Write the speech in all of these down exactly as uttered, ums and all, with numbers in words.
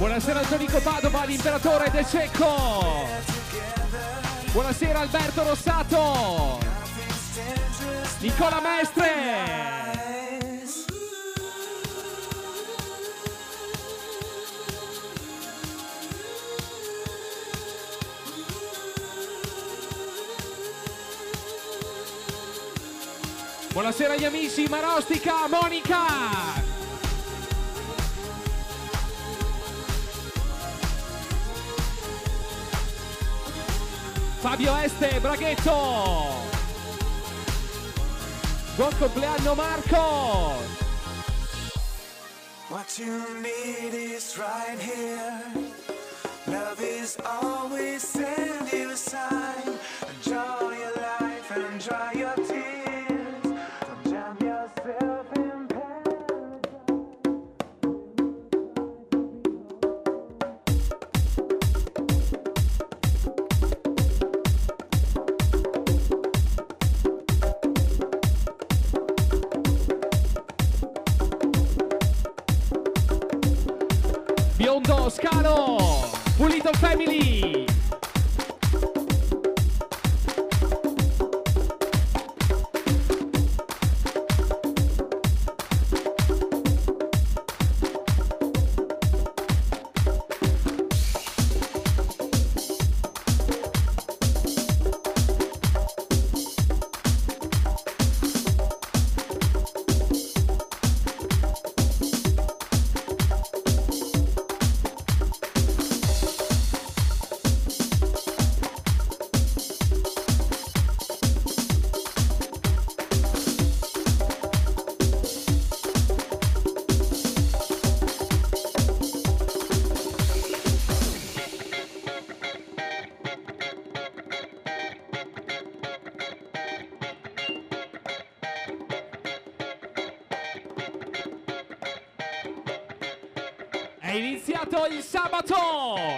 Buonasera Antonico Padova, l'imperatore De Cecco. Buonasera Alberto Rossato. Nicola Mestre. Buonasera agli amici Marostica, Monica. Fabio Este, Braghetto. Buon compleanno Marco. What you need is right here. Love is always send you a sign. Enjoy your life and dry your tears. Don't jam yourself in Biondo, Scalo, Pulito Family. È iniziato il sabato!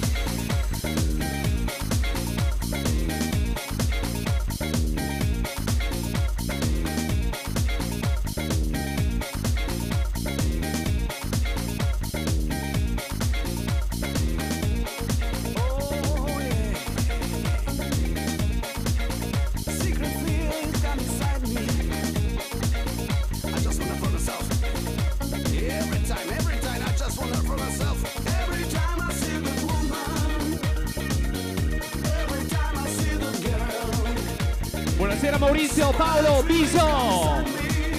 Buonasera Maurizio, Paolo, Biso.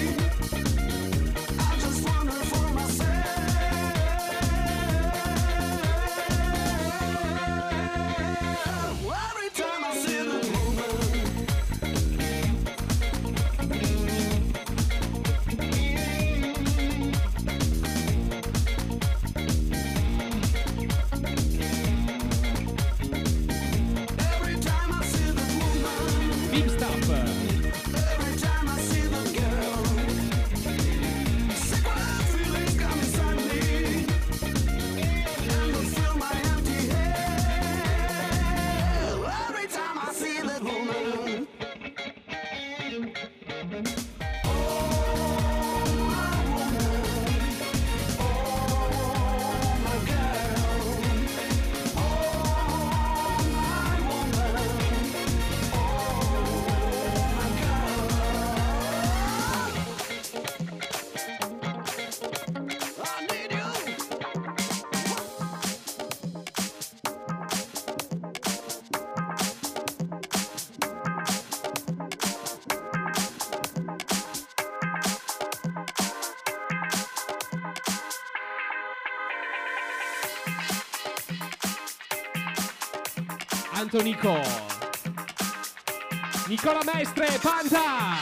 Antonico, Nicola Mestre, Panda,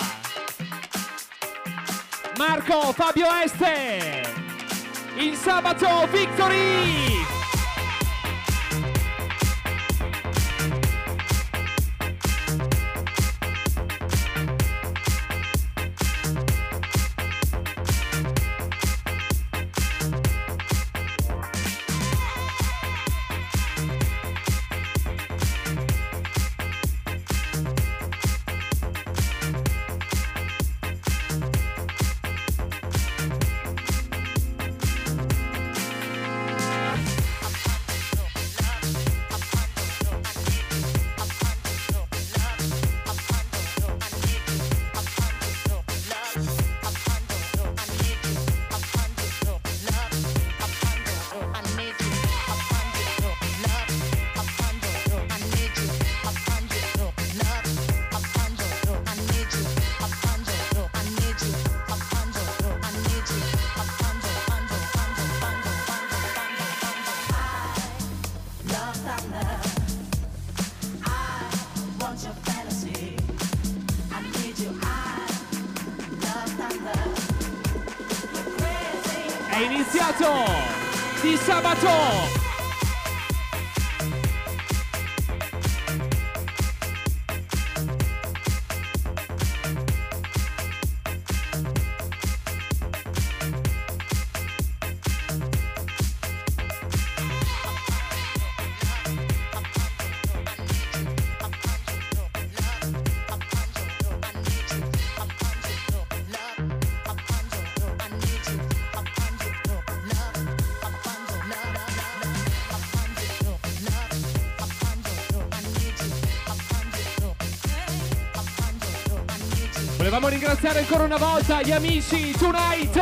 Marco, Fabio Este, il sabato Victory! È iniziato di sabato. Volevamo ringraziare ancora una volta gli amici Tonight.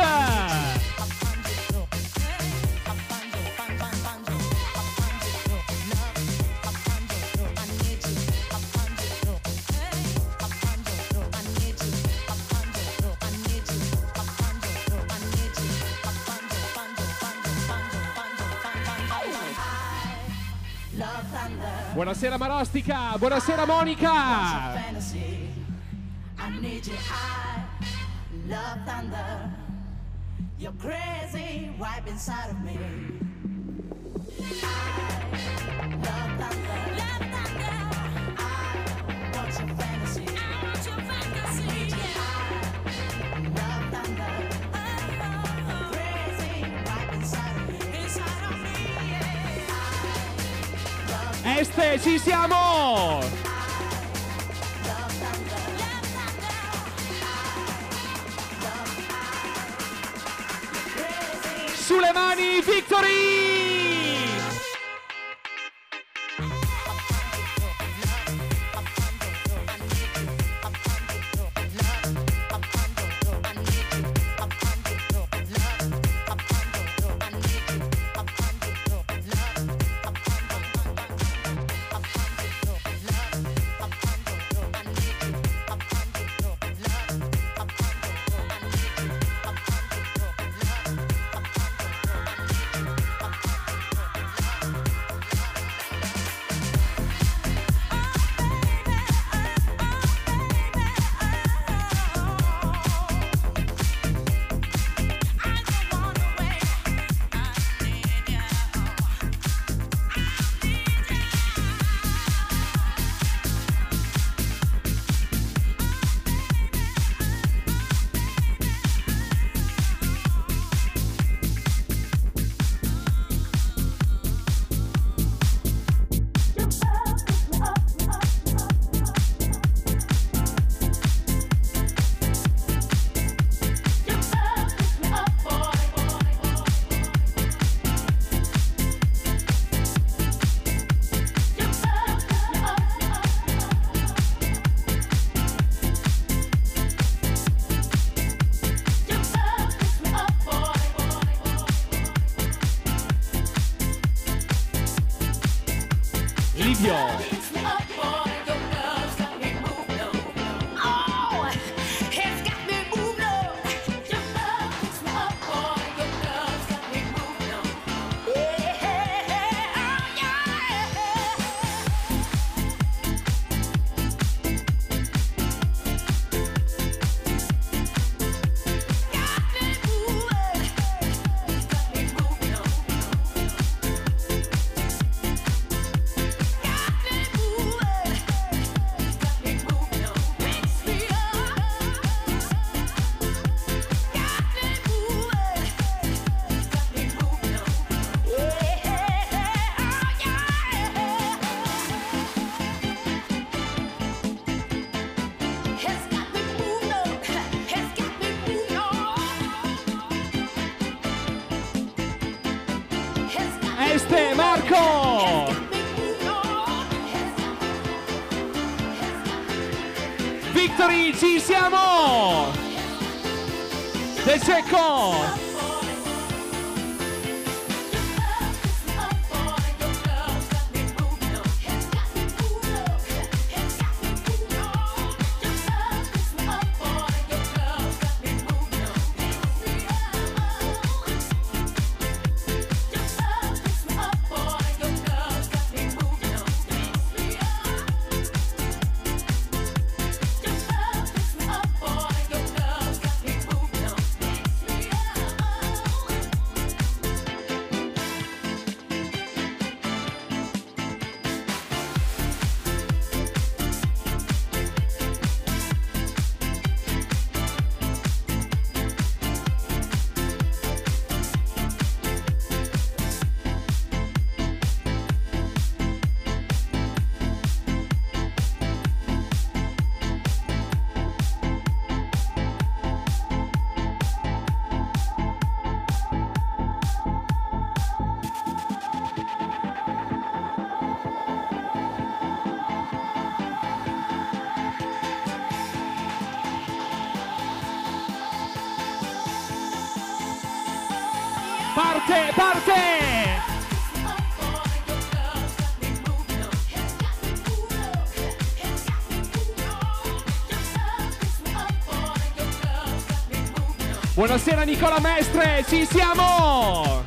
Buonasera Marostica, buonasera Monica. I need you, I love thunder. You're crazy, wipe inside of me. I love thunder. Love thunder. I want your fantasy. I want your fantasy. I need you, I love thunder. Oh, you're crazy, wipe inside of me. Inside of me, yeah. I Este, ci siamo! Sulle mani, Victory! Este, Marco! Victory, ci siamo! De Cecco! parte, parte! Buonasera Nicola Mestre, ci siamo!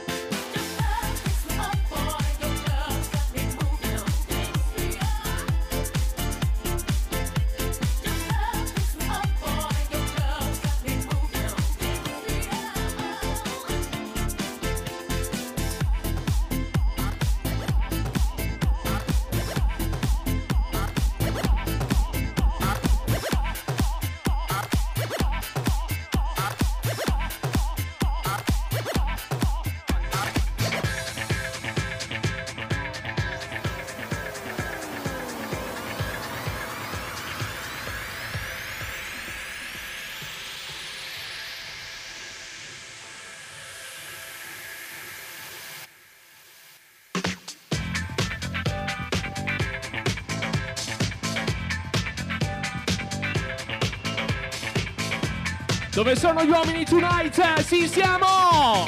Dove sono gli uomini tonight? Sì, siamo!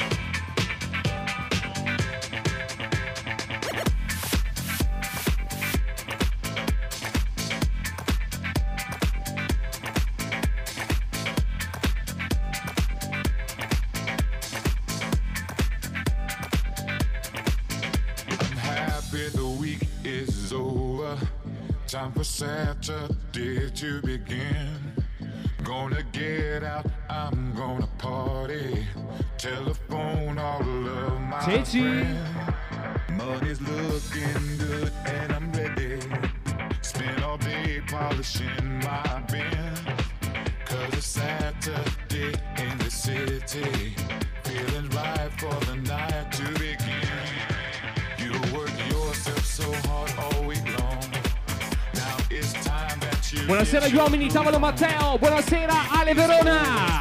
I'm happy the week is over. Time for Saturday to begin. Gonna get out, I'm gonna party. Telephone all of my Cici. friends. Money's looking good and I'm ready. Spend all day polishing my bin. Cause it's Saturday in the city. Feeling right for the night to begin. You work yourself so hard all week long. Now it's time that you Buonasera gli uomini, tavolo Matteo, buonasera Ale Verona.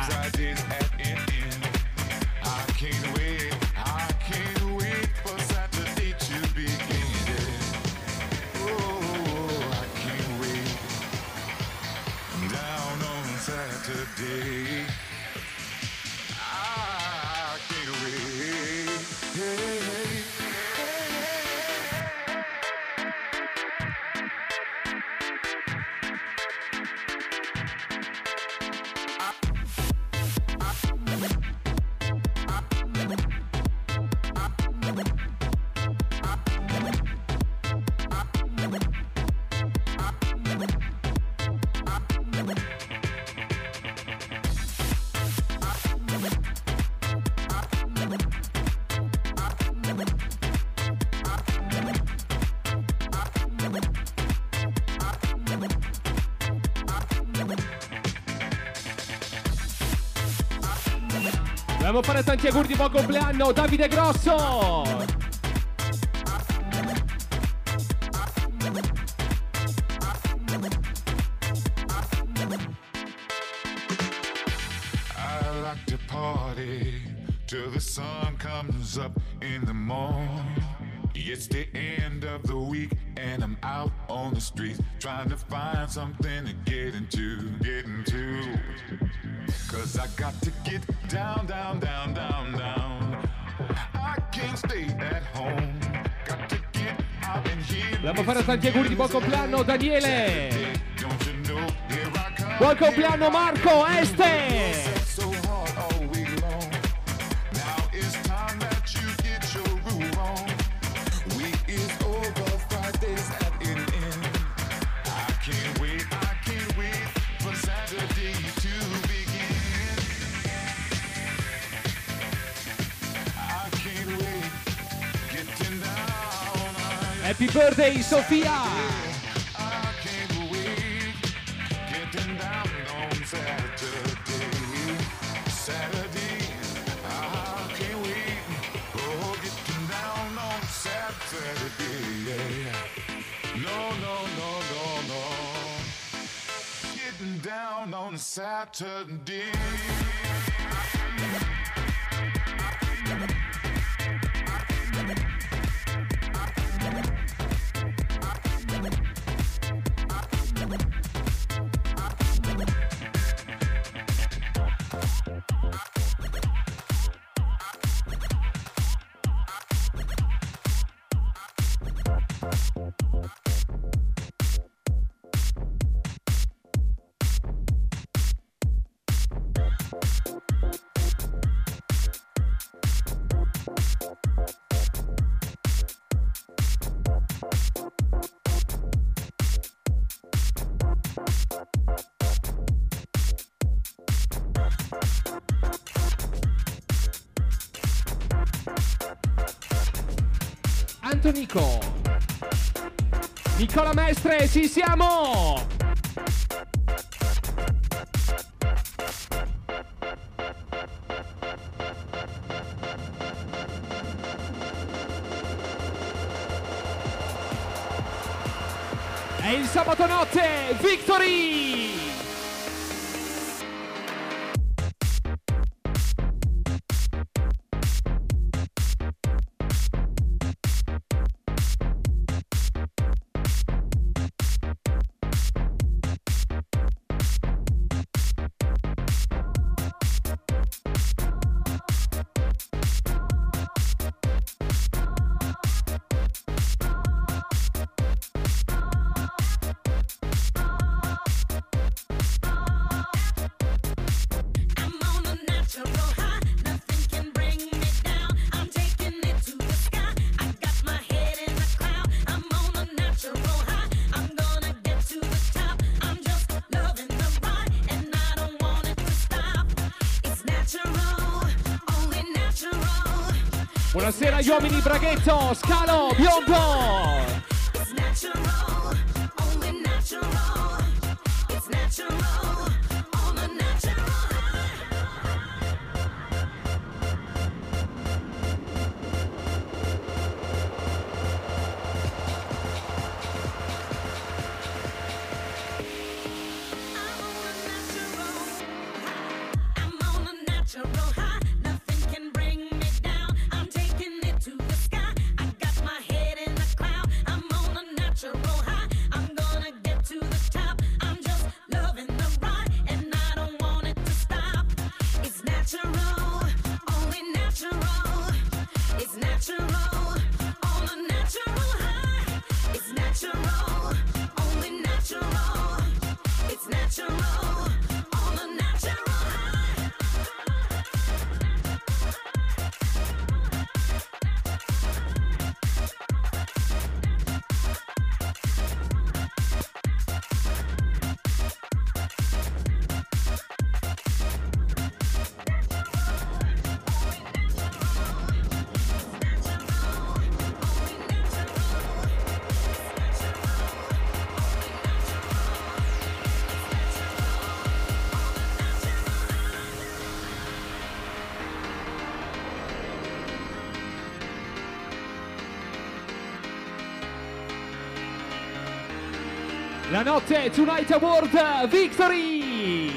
Dobbiamo fare tanti auguri di buon compleanno, Davide Grosso! I like to party till the sun comes up in the morning. It's the end of the week and I'm out on the street trying to find something to get into, get into. Cause I got to get down, down, down, down, down. I can't stay at home. Got to get out and here. Dobbiamo fare tanti auguri di buon compleanno, Daniele! Buon compleanno Marco Este! Happy birthday Sofia! Saturday. Santo Nico. Nicola Mestre, ci siamo! E il sabato notte, Victory! Buonasera agli uomini Braghetto, Scalo, Biondo! It's natural, only natural. It's natural, only natural. I'm on a natural high. Nothing can bring me down. I'm taking it to the sky. I got my head in the cloud. I'm on a natural high. I'm gonna get to the top. I'm just loving the ride, and I don't want it to stop. It's natural, only natural. It's natural, on a natural high. It's natural, only natural. It's natural, on a natural high. La notte Tonight Award Victory!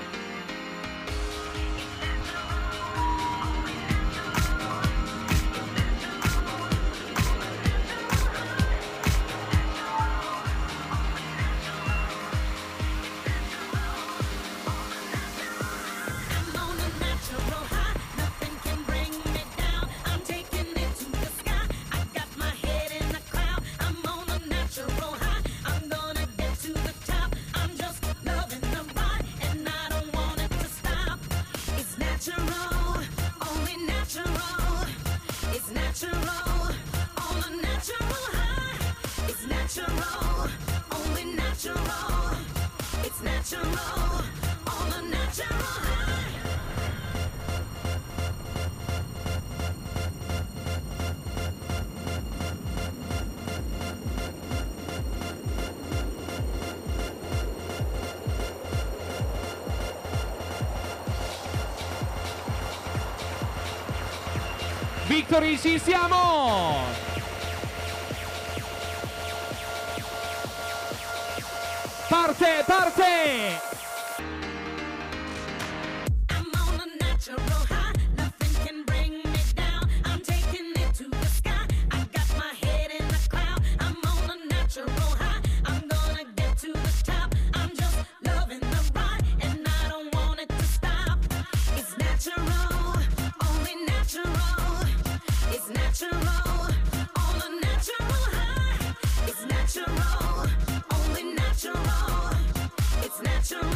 I'm on a natural high. Nothing can bring me down. I'm taking it to the sky. I got my head in the cloud. I'm on a natural high. I'm gonna get to the top. I'm just loving the ride, and I don't want it to stop. It's natural, only natural. It's natural, on a natural high. It's natural, only natural. It's natural, on a natural high. Victory, ci siamo! Parte, parte! I'm on a natural high. Nothing can bring me down. I'm taking it to the sky. I got my head in the cloud. I'm on a natural high. I'm gonna get to the top. I'm just loving the ride, and I don't want it to stop. It's natural, only natural. It's natural, on a natural high. It's natural, only natural. It's natural.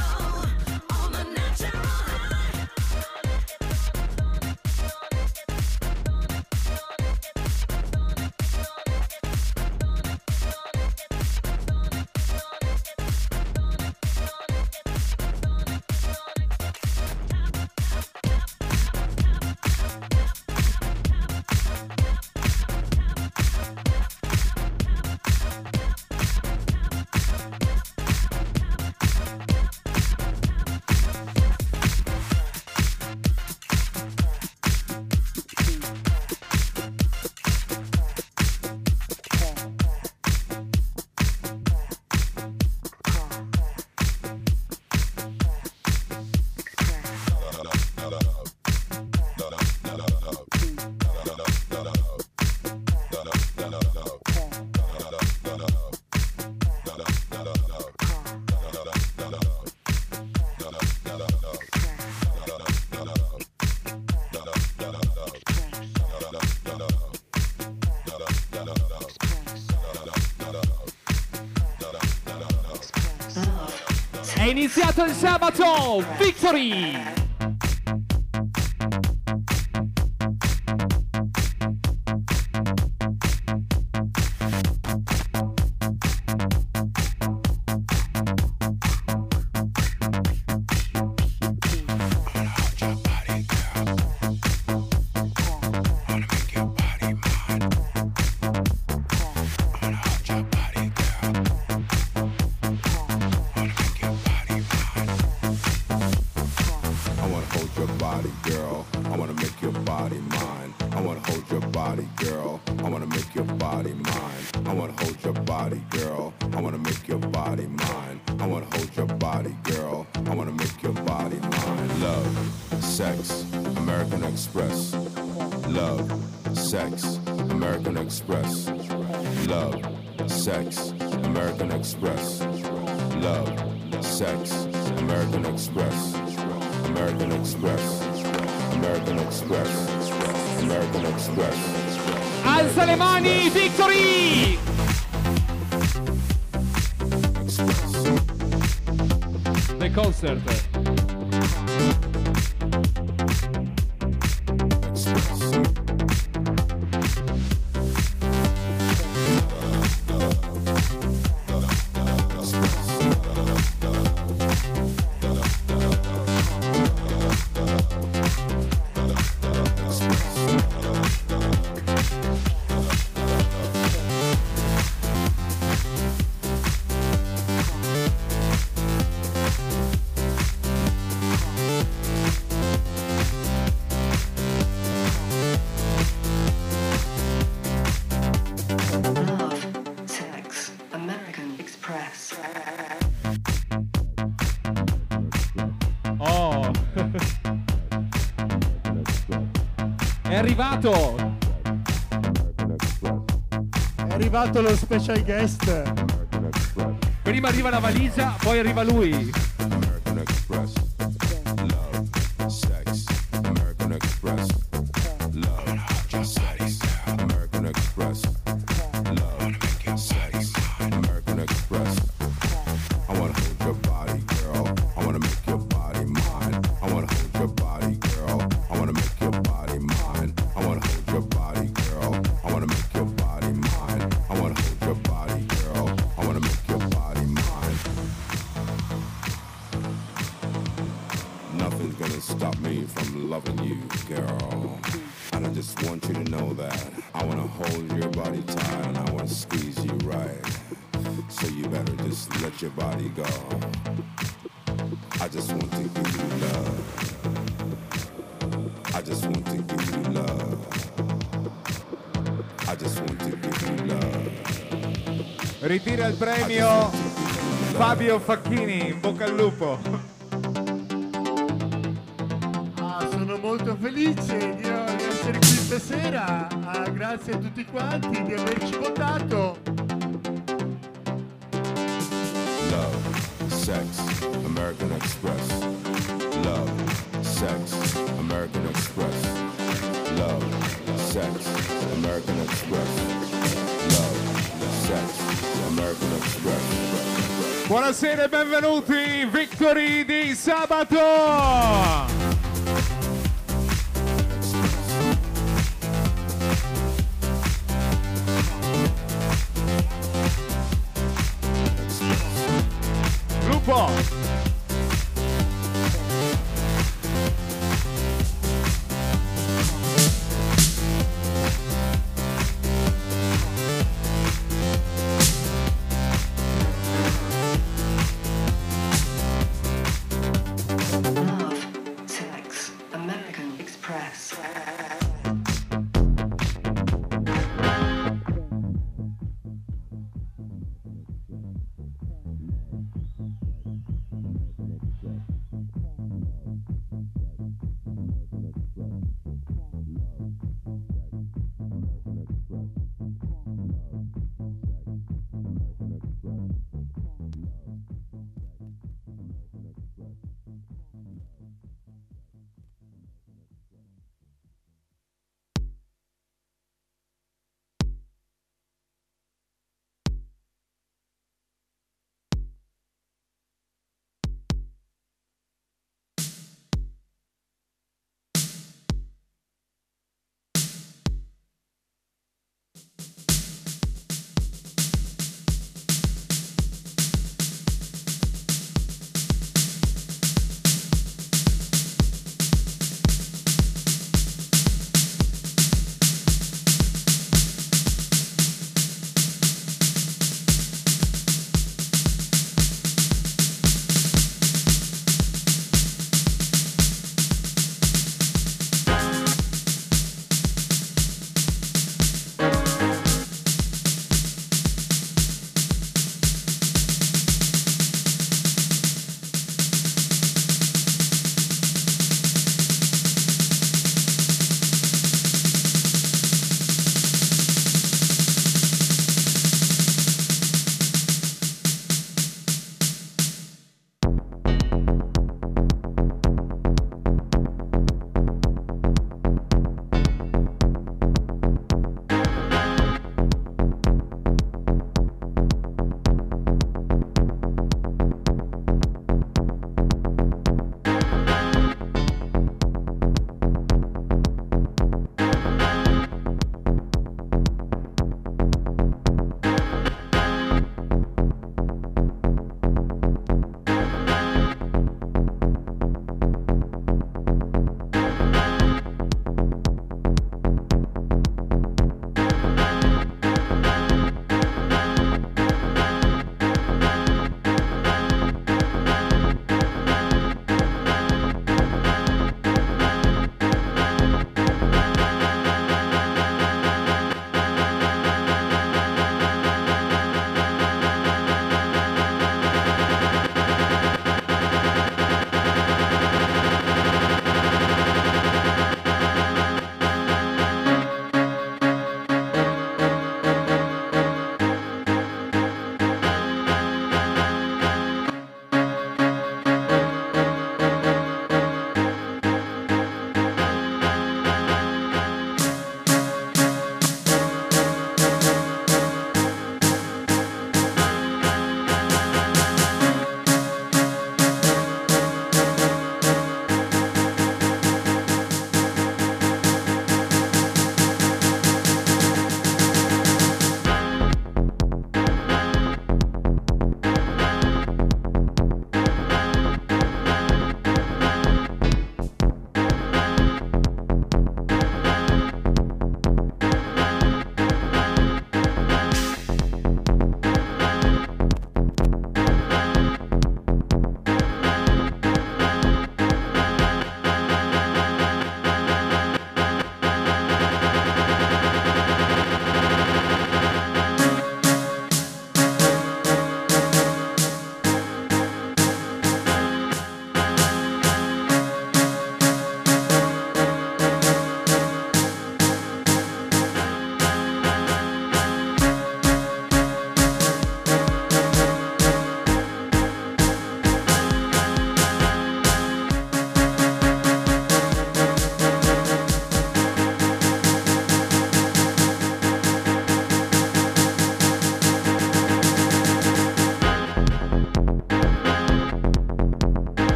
iniziato il sabato, Victory! Alza le mani, Victory! The concert. È arrivato! È arrivato lo special guest. Prima arriva la valigia, poi arriva lui. American Express, love, sex, American Express, love, sex, American Express, love, sex, American Express. I wanna hold your body, girl. I wanna make your body mine. I wanna hold your body, girl. I wanna make your body mine. I wanna hold your body, girl. I wanna make your body mine. I wanna hold your body, girl. I wanna make your body mine. Nothing's gonna stop me from loving you, girl. And I just want you to know that I wanna hold your body tight and I wanna squeeze you right. So you better just let your body go. I just want to give you love. I just want to give you love. I just want to give you love. Ritira il premio Fabio Facchini, in bocca al lupo. Ah, sono molto felice di, di essere qui stasera. Ah, grazie a tutti quanti di averci votato. Love, sex, American Express. Love, sex, American Express. Love, sex, American Express. Love, sex, American Express. Buonasera e benvenuti, Victory di sabato! Lupo! Love, sex, American Express.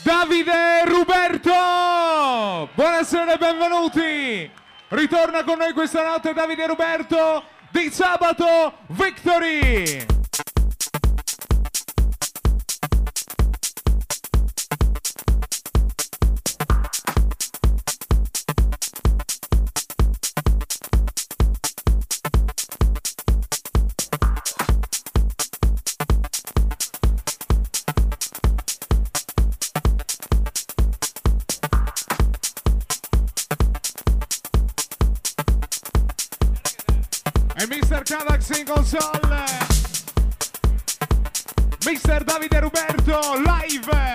Davide Ruberto! Buonasera e benvenuti! Ritorna con noi questa notte Davide Ruberto di Sabato Victory! E mister Cavax in console, mister Davide Ruberto live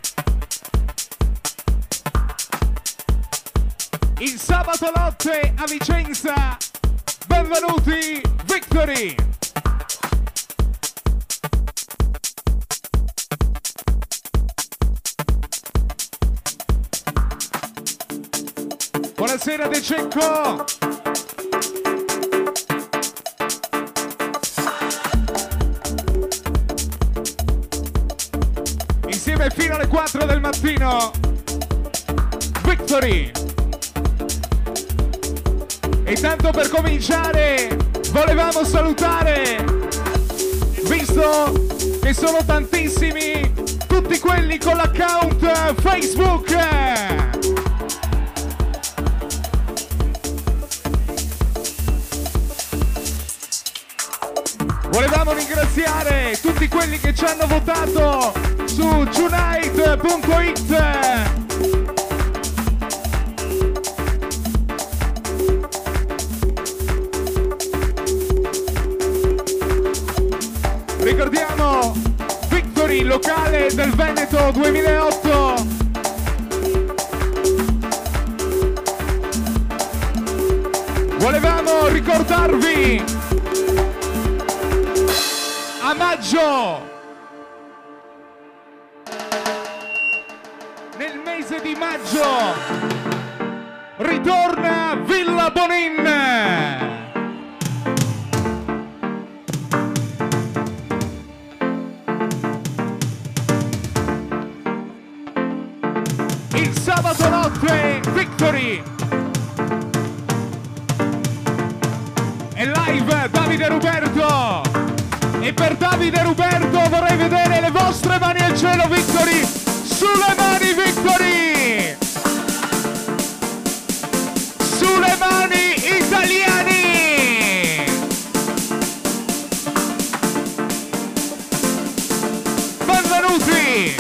il sabato notte a Vicenza. Benvenuti Victory. Buonasera De Cecco. Insieme fino alle quattro del mattino Victory. E tanto per cominciare volevamo salutare, visto che sono tantissimi, tutti quelli con l'account Facebook. Volevamo ringraziare tutti quelli che ci hanno votato su tonight punto it. Ricordiamo Victory, locale del Veneto duemilaotto. Volevamo ricordarvi a maggio, nel mese di maggio, ritorna Villa Bonin. Il sabato notte Victory e live Davide Ruberto. E per Davide Ruberto vorrei vedere le vostre mani al cielo Victory. Sulle mani Victory. Sulle mani italiani. Benvenuti.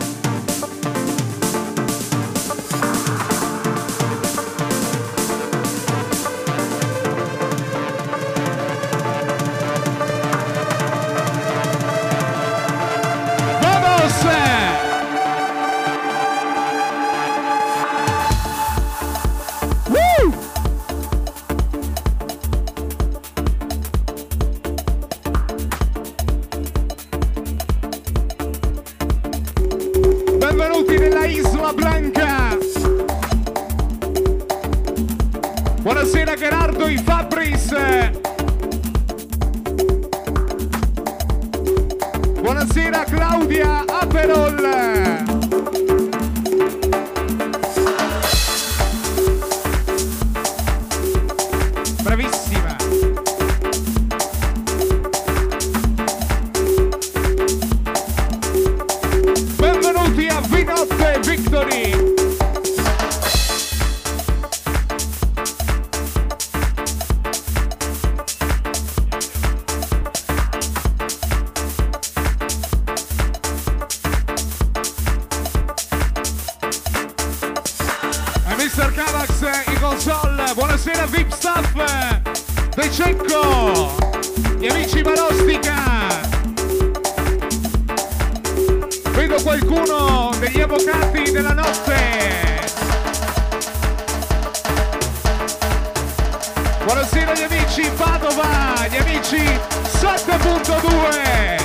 Benvenuti nella Isla Blanca. Buonasera Gerardo i Fabris. Buonasera Claudia Aperol. Bravissima. Benvenuti a Vinotte Victory. mister Cavax in console. Buonasera V I P Staff De Cecco, gli amici Marostica. Vedo qualcuno degli avvocati della notte. Buonasera gli amici Padova, gli amici sette punto due.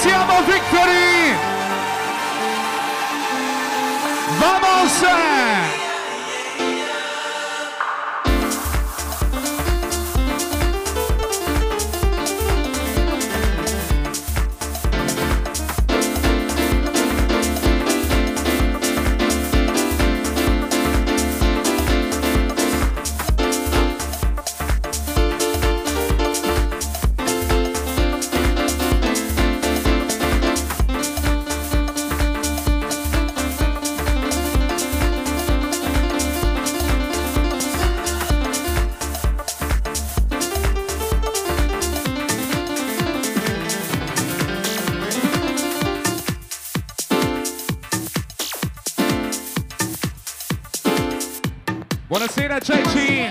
siamo Victory! Vamos! Buonasera Ceci!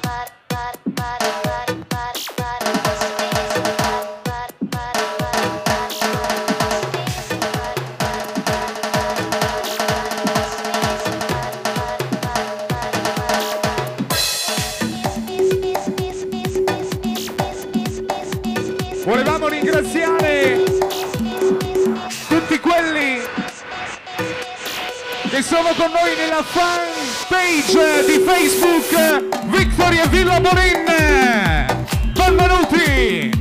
Volevamo ringraziare tutti quelli che sono con noi nella fan page di Facebook Victory e Villa Borin. Benvenuti!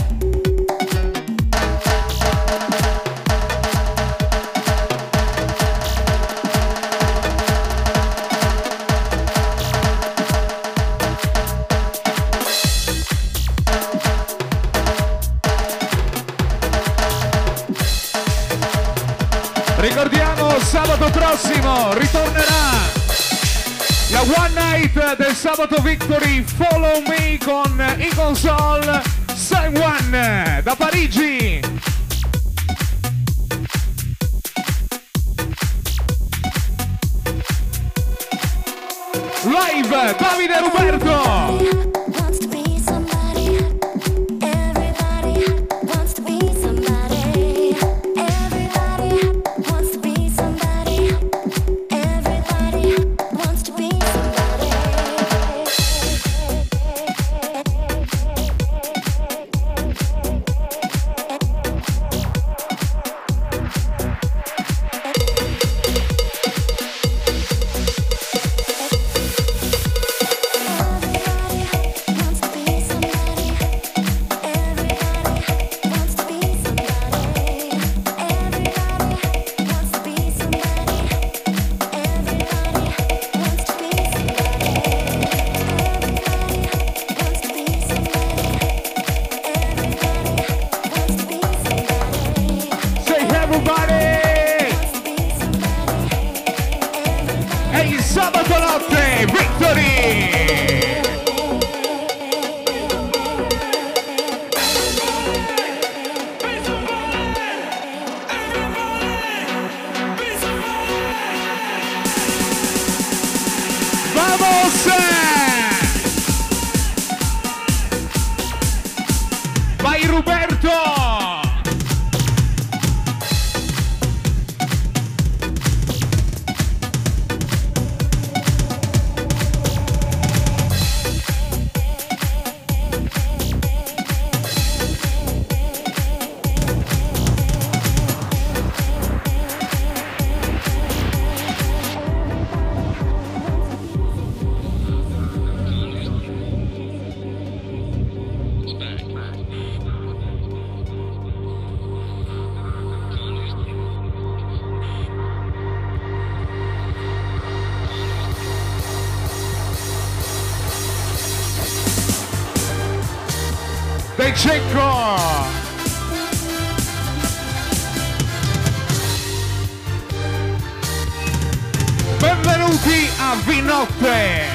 Ricordiamo, sabato prossimo ritornerà la One Night del sabato Victory Follow Me con in console San Juan da Parigi. Live Davide Roberto. Vai Roberto! De Cecco! Benvenuti a Vinotte!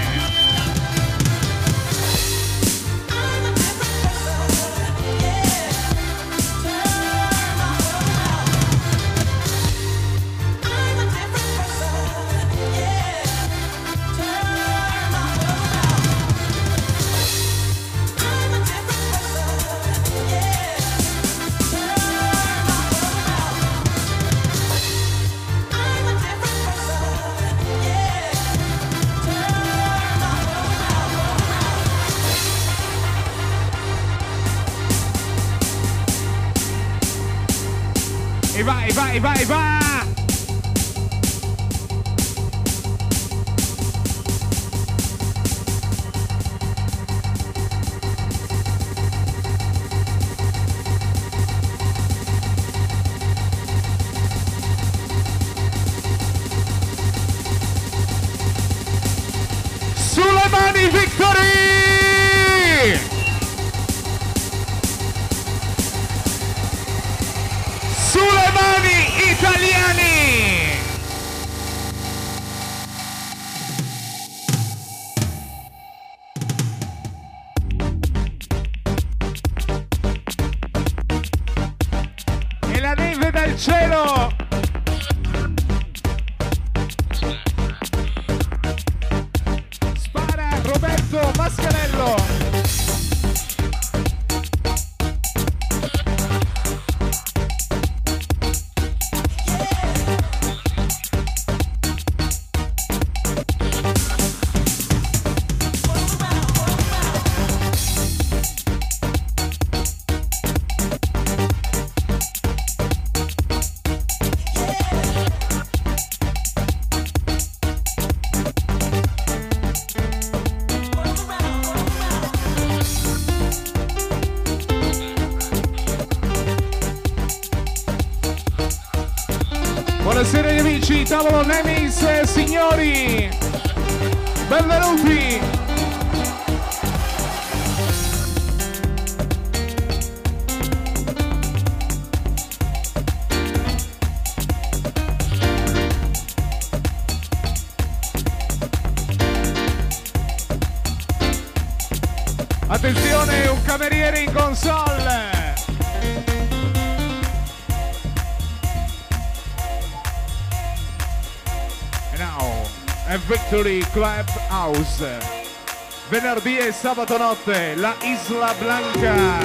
vai, vai, vai, vai! Sulle mani, Victory! Sulle mani, italiani! E la neve dal cielo! Spara Roberto Mascarello! Buonasera agli amici, tavolo Nemis, signori, benvenuti! Attenzione, un cameriere in console! E Victory Club House, venerdì e sabato notte, la Isla Blanca.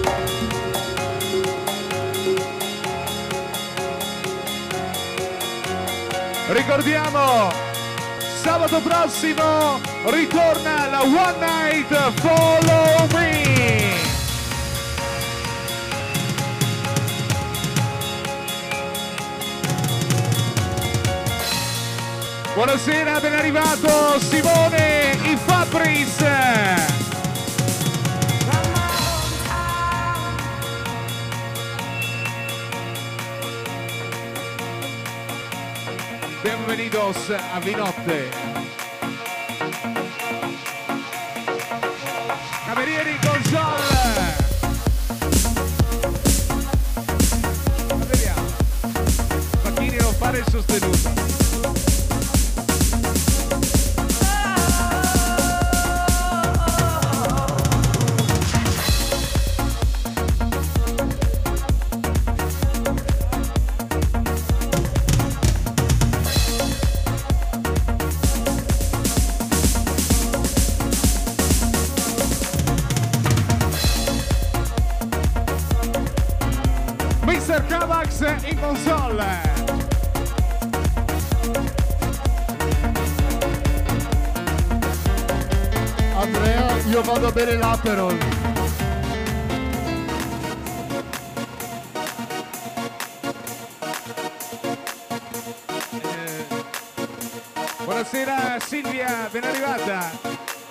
Ricordiamo, sabato prossimo ritorna la One Night Follow Me. Buonasera, ben arrivato Simone i Fabris. Bienvenidos a Vinotte. Camerieri in console. Vediamo. Facchini non fare il sostenuto. mister Cavax in console. Andrea, io vado a bere l'Aperol. Eh, buonasera Silvia, ben arrivata.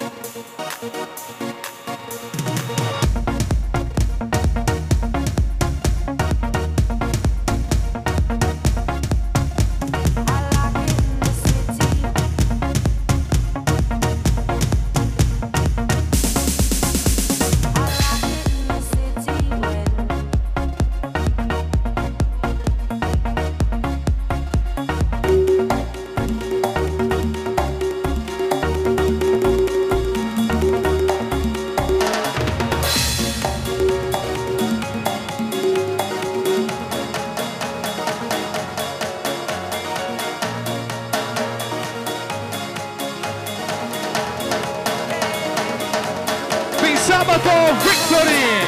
Sabato Victory!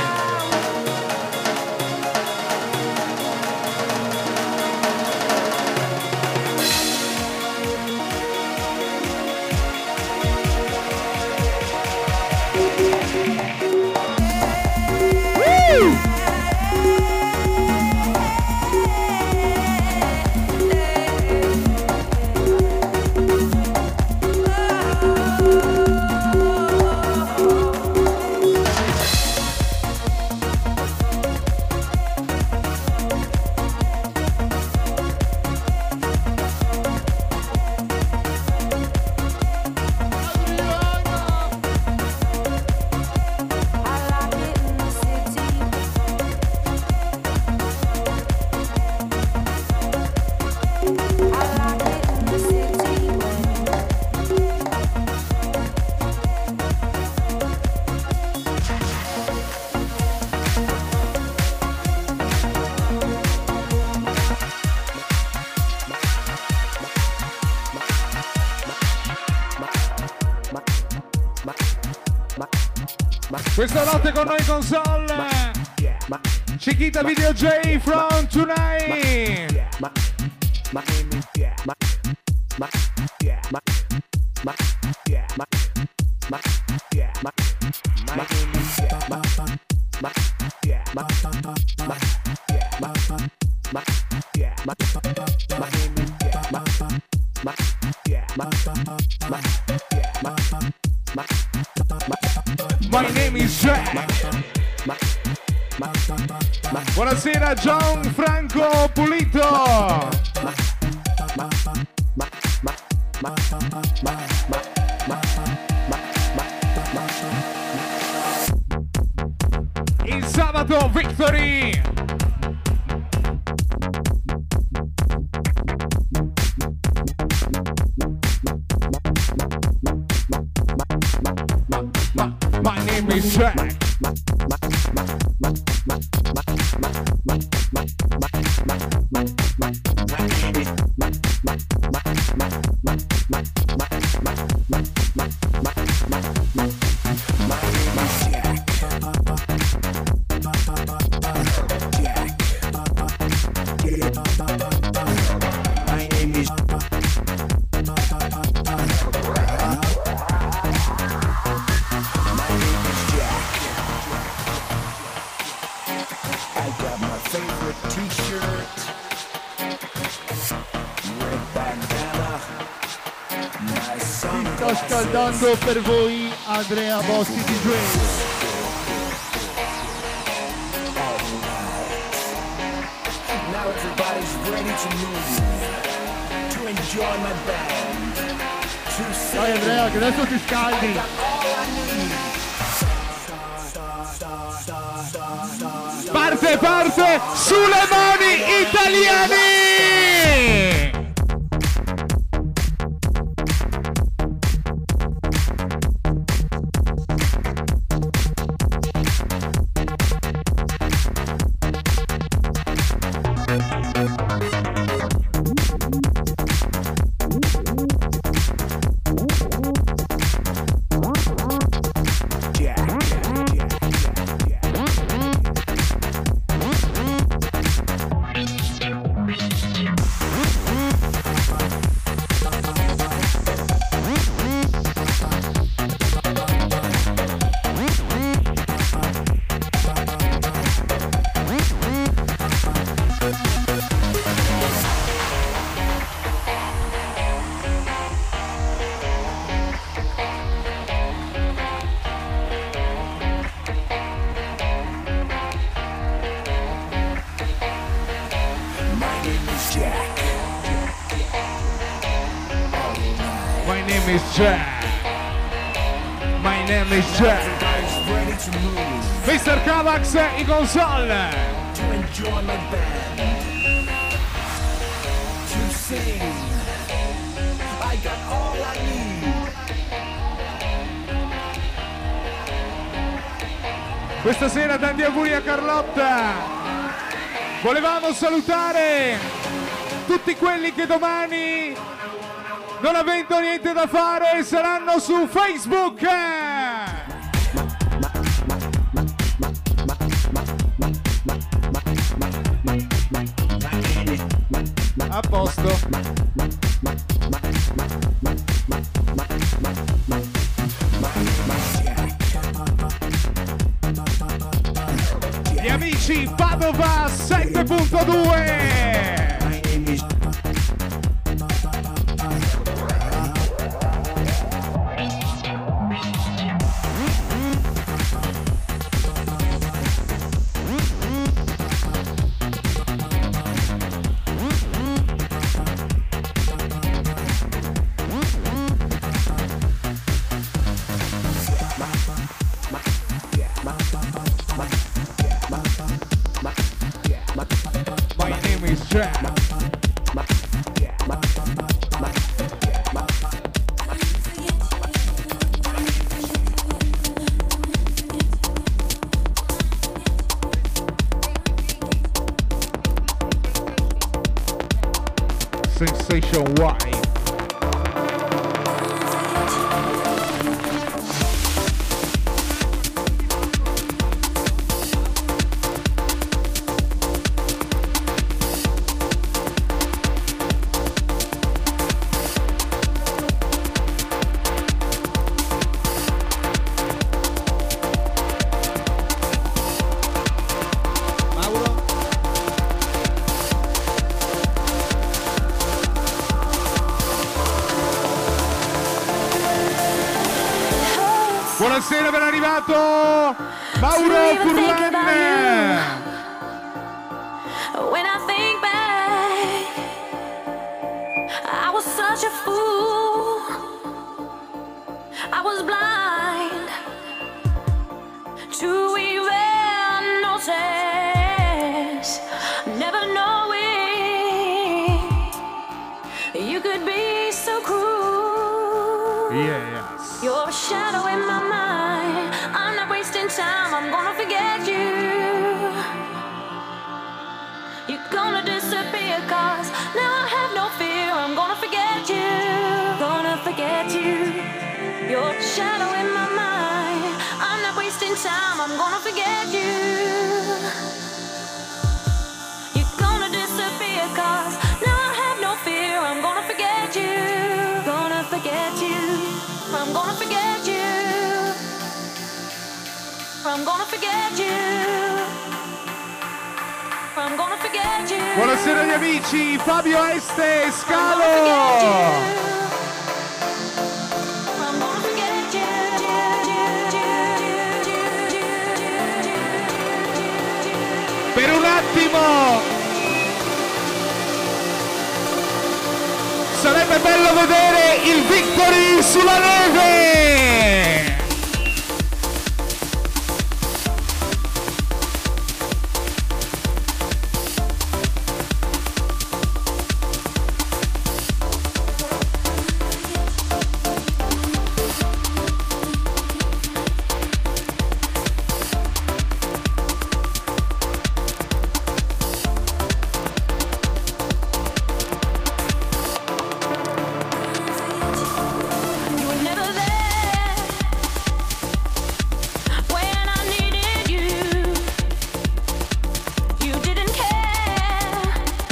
Woo! Questa notte con noi console Chiquita Video J from tonight. My name is Jack. Buonasera Gianfranco Pulito. Il sabato Victory. My name is Jack. Sto scaldando per voi Andrea Bossi D J. Now everybody's ready to move, to enjoy my band, to sing. Dai Andrea che adesso ti scaldi. Parte, parte, sulle mani italiani! My name is Jack. My name is Jack. mister Cavax in console. To enjoy my band, to sing. I got all I need. Questa sera tanti auguri a Carlotta. Volevamo salutare tutti quelli che domani, non avendo niente da fare, saranno su Facebook. A posto. Gli amici Padova sette punto due. My name is Jack. Sensation Y. Buonasera, ben arrivato Mauro Furlan. When I think back, I was such a fool. I was blind to even notice, never knowing you could be so cruel. Yes. You're a shadow in my mind. I'm not wasting time. I'm gonna forget you. You're gonna disappear, cause now I have no fear. I'm gonna forget you. Gonna forget you. You're a shadow in my mind. I'm not wasting time. I'm gonna forget you. You're gonna disappear, cause now I have no fear. I'm gonna forget you. Gonna forget you. I'm gonna forget you. I'm gonna forget you. I'm gonna forget you. Buonasera agli amici, Fabio Este I'm Scalo. gonna forget you. I'm gonna forget you. Per un attimo sarebbe bello vedere il Victory sulla neve. You were never there when I needed you. You didn't care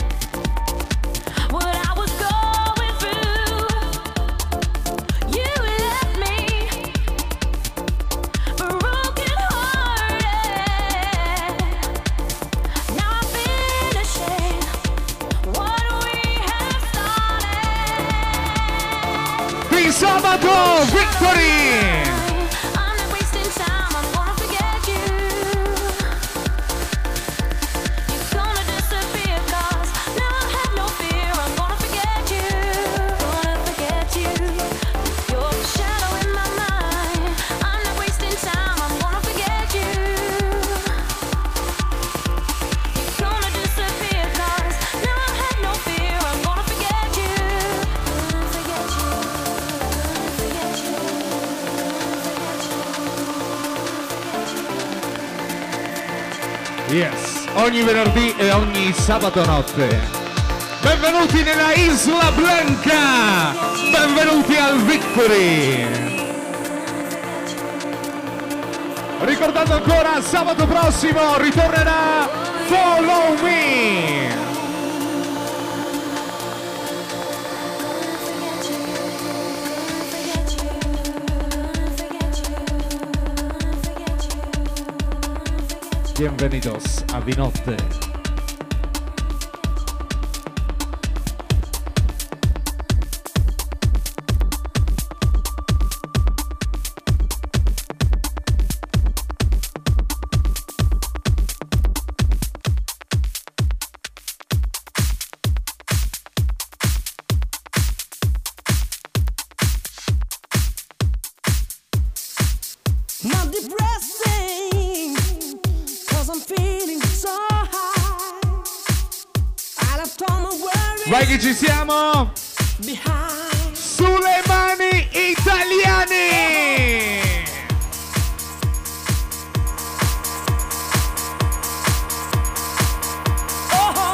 what I was going through. You left me broken hearted. Now I'm finishing what we have started. Qui sabato Victory. I'm not wasting time, I'm gonna forget you. You're gonna disappear, cause now I have no fear. I'm gonna forget you. Gonna forget you. You're a shadow in my mind. I'm not wasting time, I'm gonna forget you. You're gonna disappear, cause now I have no fear. I'm gonna forget you. Gonna forget you. Gonna forget you. Yes, ogni venerdì e ogni sabato notte. Benvenuti nella Isla Blanca. Benvenuti al Victory. Ricordando ancora, sabato prossimo ritornerà Follow Me. Bienvenidos a Vinotte. Not depressing, cause I'm feeling so high. I left all my worries Vai che ci siamo! behind. Sulle mani italiane! Oh,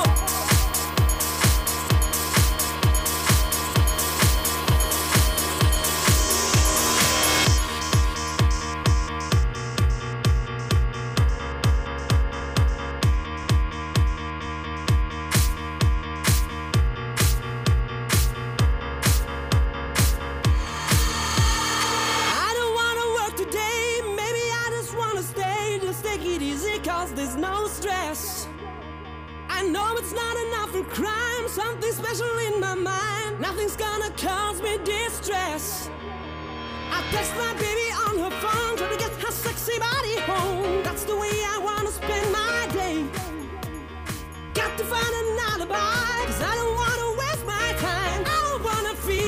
I don't wanna work today. Maybe I just wanna stay. Just take it easy, cause there's no stress. I know it's not enough for crime. Something special in my mind. Nothing's gonna cause me distress. I text my baby on her phone.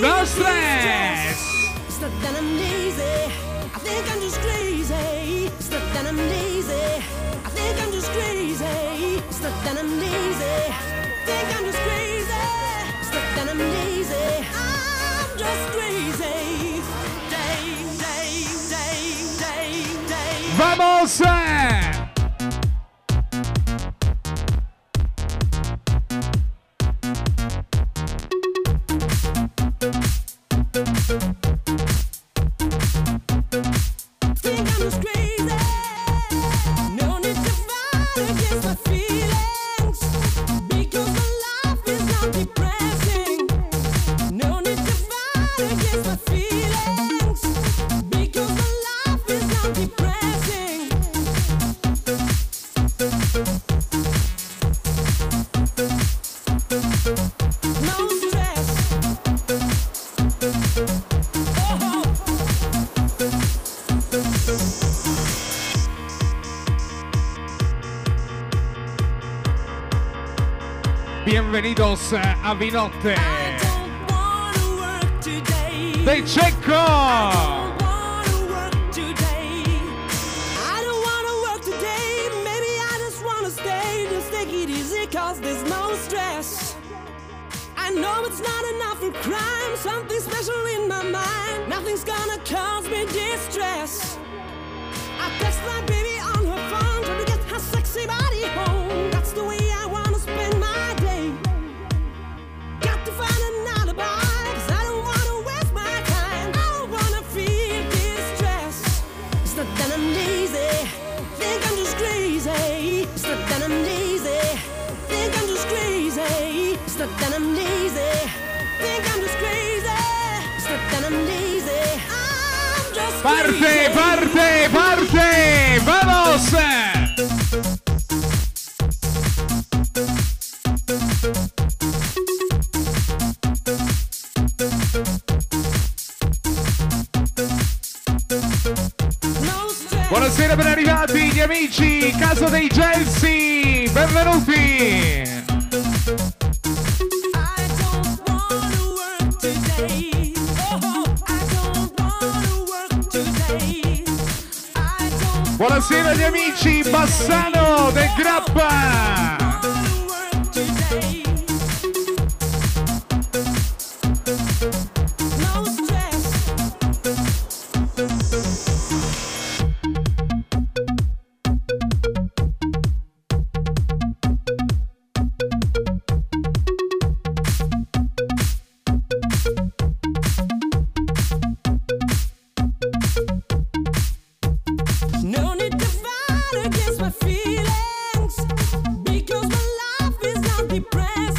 No stress! It's not that I'm lazy, I think I'm just crazy. It's not that I'm lazy, I think I'm just crazy. It's not that I'm lazy, I think I'm just crazy. It's not that I'm lazy, I'm just crazy. Day, day, day, day, day. Vamos! Think I'm just crazy. No need to fight against my feelings, because my life is not depressing. No need to fight against my feelings, because my life is not depressing. No stress. Oh. Bienvenidos a Vinotte I don't wanna work today. dei Cecco! I don't wanna work today. I don't wanna work today. Maybe I just wanna stay. Just take it easy, cause there's no stress. I know it's not enough for crime. Something special in my mind. Nothing's gonna cause me distress. I text my baby on her phone, trying to get her sexy body home. That's the way I wanna spend my day. Got to find an alibi, cause I don't wanna waste my time. I don't wanna feel distress. It's not that I'm lazy, think I'm just crazy. It's not that I'm lazy, think I'm just crazy. It's not that I'm lazy, think I'm just crazy. It's not that I'm lazy, I'm just Parte, crazy. parte, parte! Vamos! No stress. Buonasera, ben arrivati gli amici, Casa dei Gelsi, benvenuti! I don't wanna work today. Oh, I don't wanna work today. I don't Buonasera gli amici, Bassano del Grappa! wanna work today. No stress. No need to fight against my feelings, because my life is not depressing.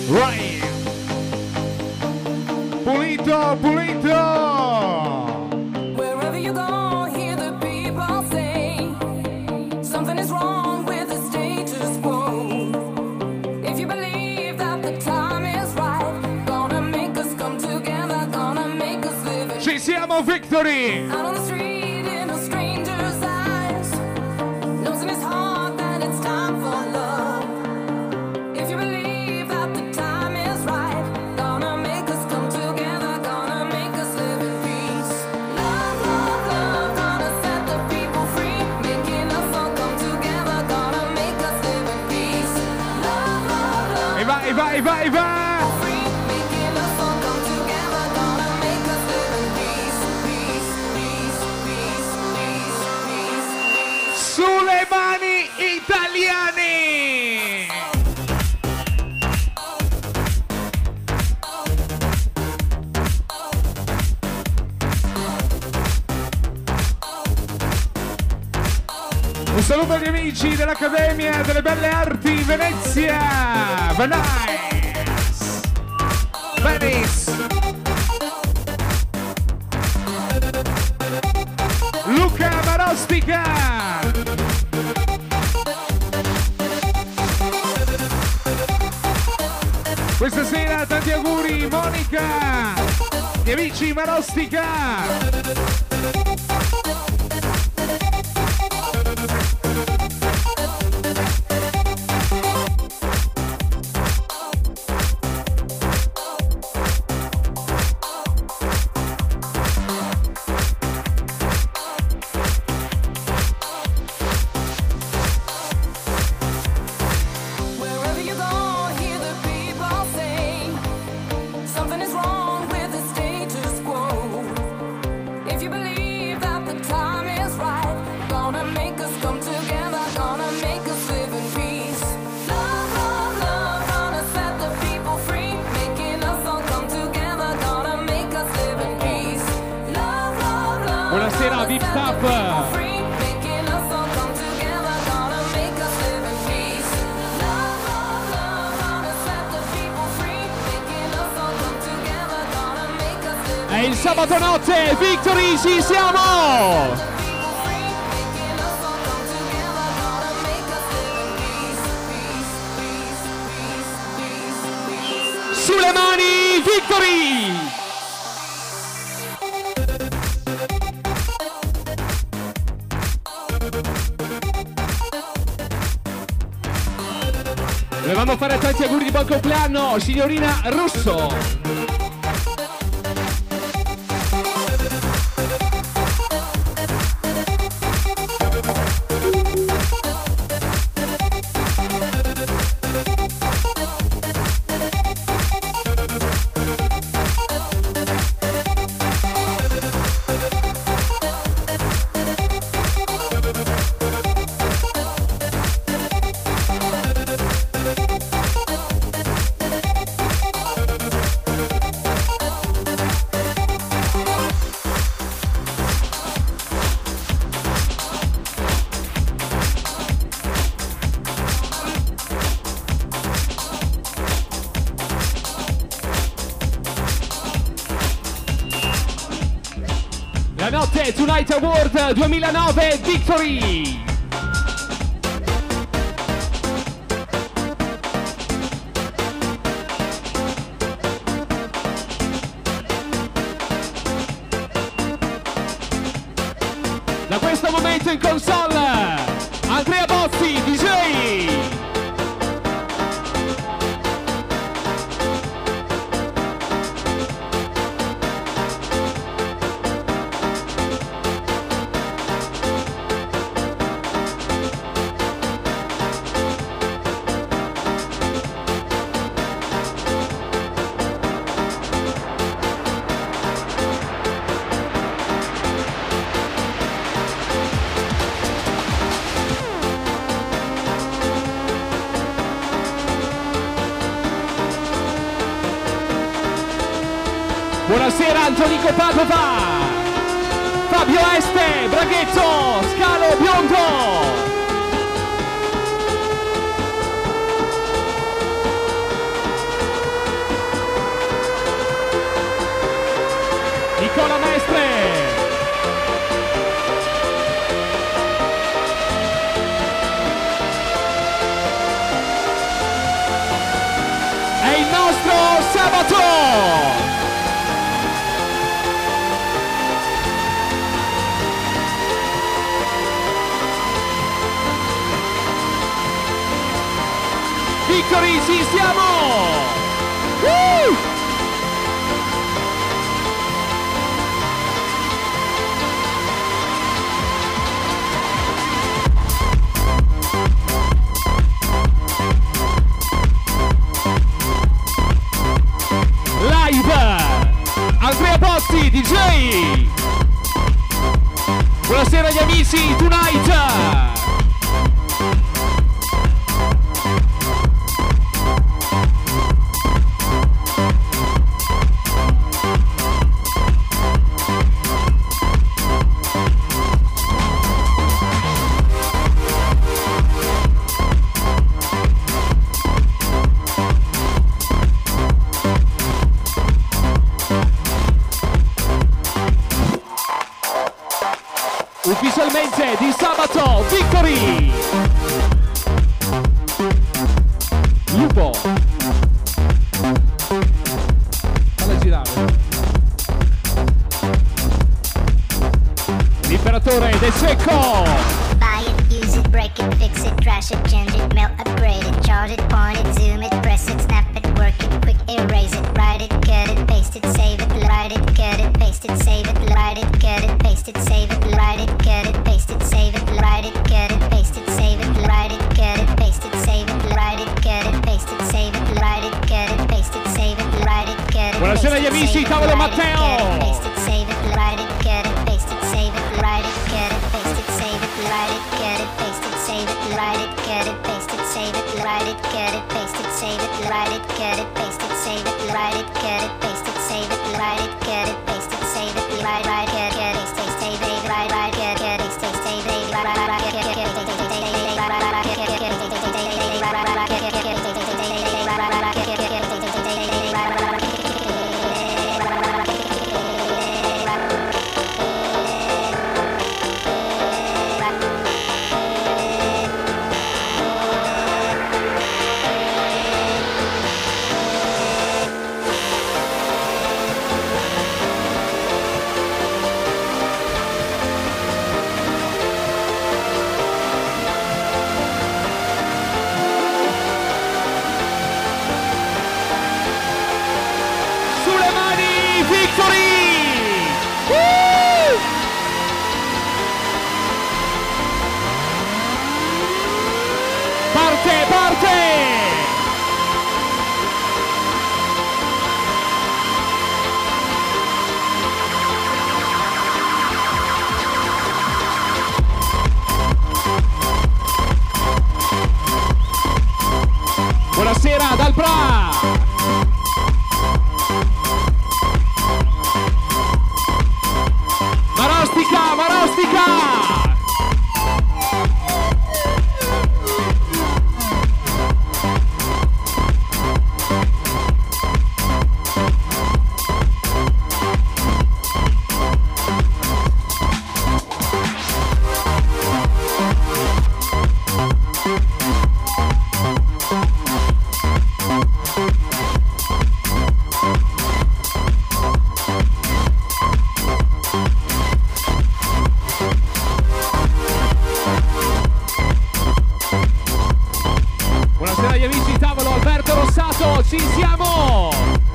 Right. Pulito, pulito. Wherever you go, hear the people say something is wrong with the status quo. If you believe that the time is right, gonna make us come together, gonna make us live in Ci siamo, Victory. out on the street in a stranger's eyes, knows in his heart that it's time for love. If you believe that the time is right, gonna make us come together, gonna make us live in peace. Love, love, love, gonna set the people free, making us all come together, gonna make us live in peace. Love, love, love. E vai, vai, vai, vai. Free, making us all come together, gonna make us live in peace, peace, peace, peace, peace, peace, peace. Sulle mani italiane. Un saluto agli amici dell'Accademia delle Belle Arti Venezia. Venice. Venice. Luca Marostica. Questa sera tanti auguri Monica. Gli amici Marostica. Wherever you go, hear the people say something is wrong with the status quo. If you believe that the time is right, gonna make us come together, gonna make us live in peace. Love, love, love, gonna set the people free, making us all come together, gonna make us live in peace. Love, love, love. Buonasera, gonna Beef set the Tap. people free, making us all come together, gonna make us live in peace. Love, love, love, gonna set the people free, making us all come together, gonna make us live in È il sabato notte, Victory, ci siamo! people free, making us all come together, gonna make us live in peace, peace, peace, peace, peace, peace. Sulle mani, Victory! Volevamo fare tanti auguri di buon compleanno, signorina Russo! La notte Tonight Award duemilanove Victory! Da questo momento in console Andrea Bozzi, D J! Buonasera Antonico Padova, Fabio Este, Braghetto, Scalo Biondo. nostro sabato! Victory, ci siamo! Woo! Live! Andrea Pozzi, D J! Buonasera agli amici, tonight! Ufficialmente di sabato, Victory! Lupo! Falla girare. L'imperatore De Secco! Buy it, use it, break it, fix it, trash it, change it, melt, upgrade it, charge it, point it, zoom it, press it, snap it, work it, quick erase it, write it, cut it, paste it, save it, write it, cut it, paste it, save it, write it, cut it, paste it, save it, write it, cut it, paste it, save it, write it, cut it, paste it, save it, write it, cut it, paste it, save it, write it, cut it, paste it, save it, write it, cut it, paste it, save it, write it, cut it. Buonasera agli amici, tavolo Matteo! Paste it, save it, write it, cut it, paste it, save it, write it, cut it, paste it, save it, write it, cut it, paste it, save it, write it, cut it, paste it, save it, write it, cut it, paste it, save it, write it, cut it, paste it, save it, write it, cut it, paste it, save it, write it, cut it, paste it, save it, write it, cut it, paste it, save it, write it, cut it, paste it, save it, write it, cut it, paste it, save it, Sulle mani, Victory! Woo! Parte, parte! Buonasera dal Bra! Marostica, Marostica! Buonasera agli amici, tavolo Alberto Rossato, ci siamo!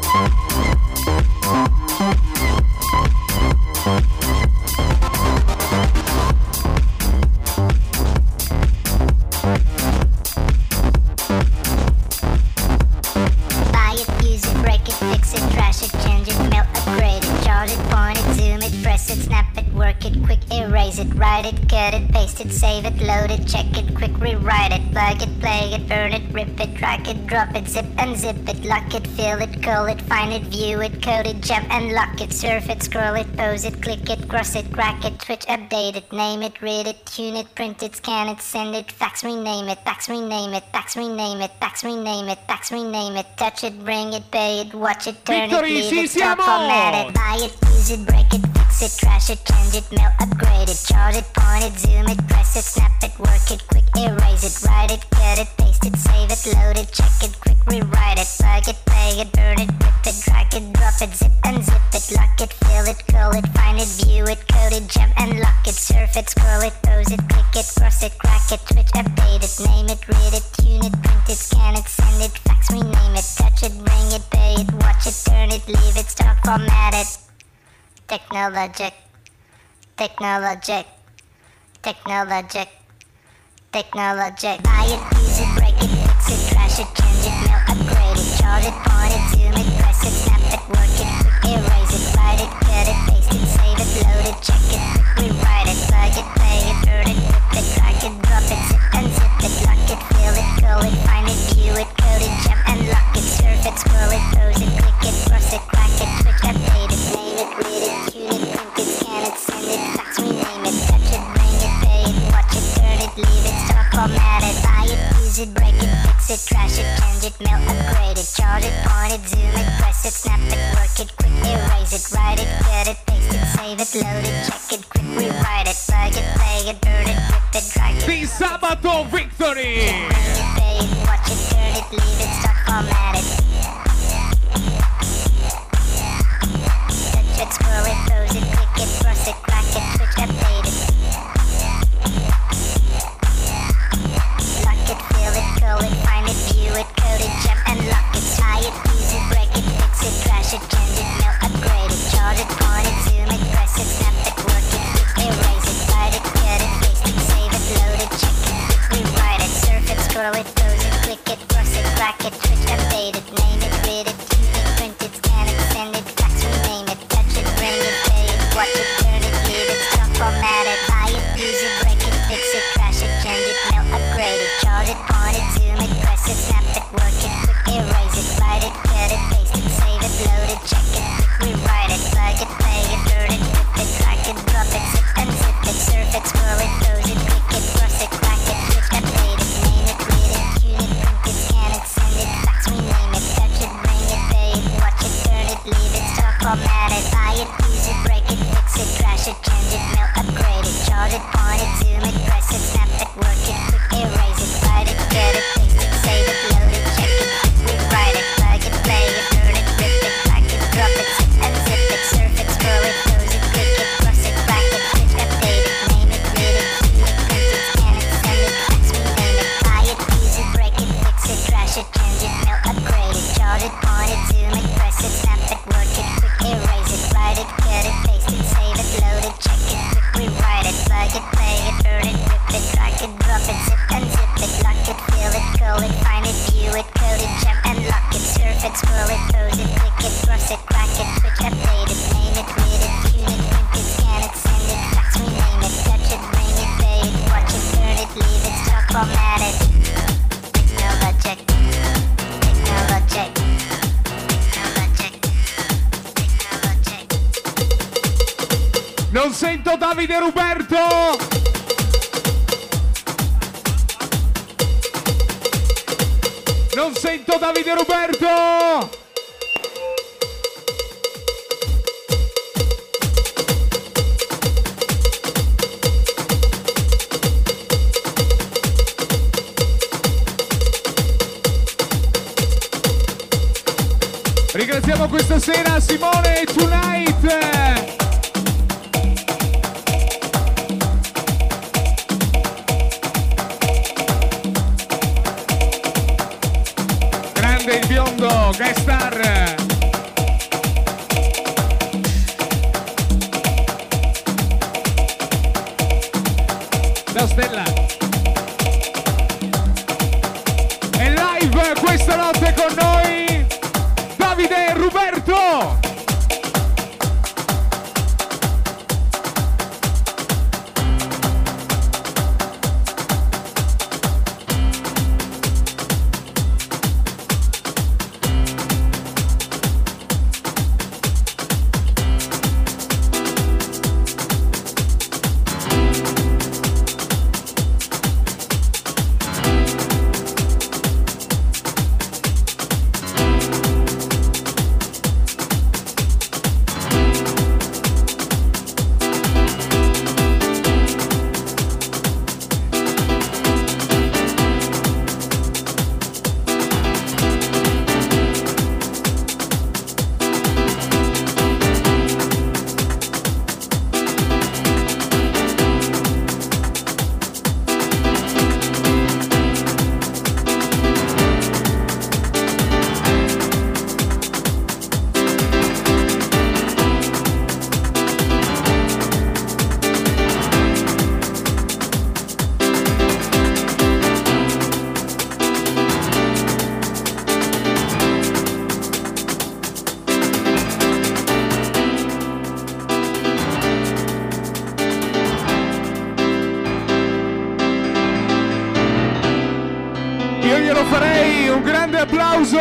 Buy it, use it, break it, fix it, trash it, change it, melt, upgrade it, charge it, point it, zoom it, press it, snap it, work it, quick erase it, write it, cut it, paste it, save it, load it, check it, quick rewrite it, plug it, play it, burn it, rip it, drag it, drop it, zip unzip it, lock it, fill it, call it, find it, view it, code it, jump and lock it, surf it, scroll it, pose it, click it, cross it, crack it, switch, update it, name it, read it, tune it, print it, scan it, send it, fax, rename it, fax, rename it, fax, rename it, fax, rename it, fax, rename it, touch it, bring it, pay it, watch it, turn Victory, it, leave ci it, stop, siamo! format it, buy it, use it, break it, fix fix it, trash it, change it, melt, upgrade it, charge it, point it, zoom it, press it, snap it, work it, quick erase it, write it, cut it, paste it, save it, load it, check it, quick rewrite it, plug it, play it, burn it, rip it, drag it, drop it, zip unzip it, lock it, fill it, curl it, find it, view it, code it, jump and lock it, surf it, scroll it, pose it, click it, cross it, crack it, switch, update it, name it, read it, tune it, print it, scan it, send it, fax, rename it, touch it, bring it, pay it, watch it, turn it, leave it, start, format it. Technologic, technologic, technologic, technologic. Buy it, use it, break it, fix it, trash it, change it, melt, upgrade it, charge it, point it, zoom it, press it, snap it, work it, quick erase it, write it, cut it, paste it, save it, load it, check it, quick rewrite it, plug it, play it, burn it, rip it, drag it, drop it, zip unzip it, lock it, fill it, curl it, find it, view it, code it, jump and lock it, surf it, scroll it, pose it, click it, cross it, crack it, switch, update it, name it, read it, tune it, print it, scan it, send it, fax, rename it, touch it, bring it, pay it, watch it, turn it, leave it, start, format it, buy it, use it, break it, fix it, trash it, change it, melt, upgrade it, charge it, point it, zoom it, press it, snap it, work it, quick erase it, write it, cut it, paste it, save it, load it, check it, quick rewrite it, plug it, play it, burn it, rip it, drag it. Di Sabato Victory! Bring it, pay it, watch it, turn it, leave it, start, format it. Touch it, scroll it, pose it, click it, cross it, crack it, switch, update it. Lock it, fill it, curl it, find it, view it, code it, jump and lock it. Tie it, use it, break it, fix it, trash it, change it, melt, upgrade it, charge it, point it, zoom it, press it, snap it, work it, quick erase it, write it, cut it, paste it, save it, load it, check it, quick rewrite it, surf it, scroll it, pose it, click it, cross it, crack it, switch, update it, name it, read it, tune it, print it, scan it, send it, fax, rename it, touch it, bring it, pay it, watch it, turn it, leave it, stop, format it, buy it, use it, break it, fix it, trash it, change it, melt, upgrade it, charge it, point it, zoom it, press it, snap it, work it, quick erase it, write it, cut it, paste it, save it, load it, check it, quick rewrite it, plug it, play it, burn it, rip it, drag it, drop it, zip unzip it, surf it, scroll it, pose it, click it, cross it, crack it, switch, update it, name it, read it, tune it, print it, scan it, send it, fax, rename it, touch it, bring it, pay it, watch it, turn it, leave it, start, format it, buy it, use it, break it, fix it, trash it, change it, melt, upgrade it, charge it, point it, zoom it, press it, snap it, work it, quick erase it, write it, cut it, paste it, save it, load it, check it, quick rewrite it, plug it, play it, burn it, rip it, drag it, drop it, zip unzip it, surf it, scroll it, pose it, click it, cross it, crack it, switch, update it, name it, read it, tune it, print it, scan it, send it, fax, rename it, buy it, use it, break it, fix it, trash it, change it, melt, upgrade it, charge it, point it, zoom it, press it, snap it, work it, quick erase it, write it, cut it, paste it, save it, load it, check it, quick rewrite it, plug it, play it, burn it, rip it, drag it, drop it, zip unzip it, lock it, fill it, curl it, find it, view it, code it, jump and lock it, surf it, scroll it, pose it, click it, cross it, crack it, switch, update it, name it, read it, tune it, print it, scan it, send it, fax, rename it, touch it, bring it, pay it, watch it, turn it, leave it, start, format it. Technologic, technologic, technologic, technologic. Non sento Davide Ruberto! Non sento Davide Ruberto! Ringraziamo questa sera Simone Tonight! Grande il biondo, guest star! Ciao Stella! È live questa notte con noi Davide Ruberto!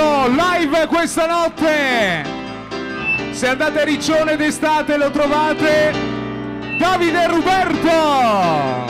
Ruberto live questa notte. Se andate a Riccione d'estate lo trovate. Davide Ruberto.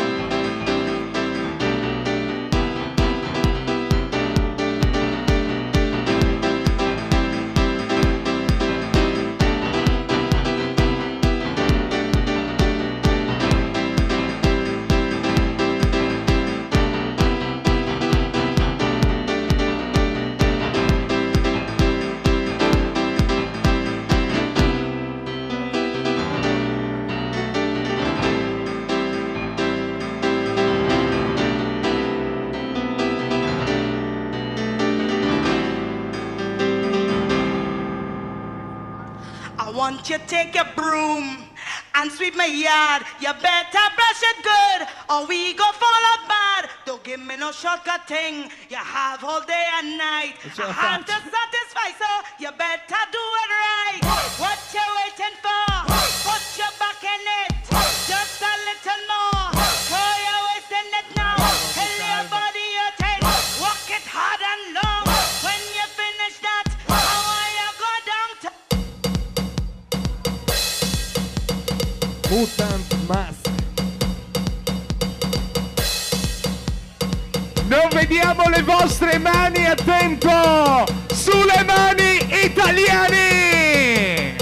Want you take your broom and sweep my yard. You better brush it good or we go fall up bad. Don't give me no shortcut thing. You have all day and night. I have to satisfy, so you better do it right. What you waiting for? Put your back in it. Just a little more. Throw your waist in it now. Tell your body you're tight. Walk it hard and long. When you finish that, I want you go down to Mutant Mask. Non vediamo le vostre mani, attento! Sulle mani italiani!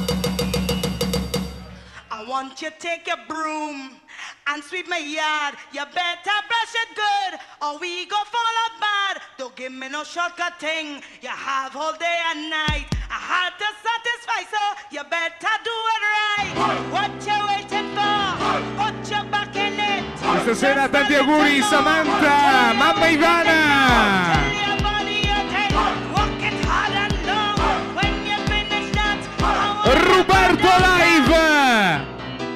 I want you to take your broom and sweep my yard. You better brush it good or we go fall up bad. Don't give me no shortcut thing. You have all day and night. I had to satisfy, so you better do it right. What you waiting for? Put your back in it. Questa sera tanti auguri Samantha, mamma Ivana! Ruberto live!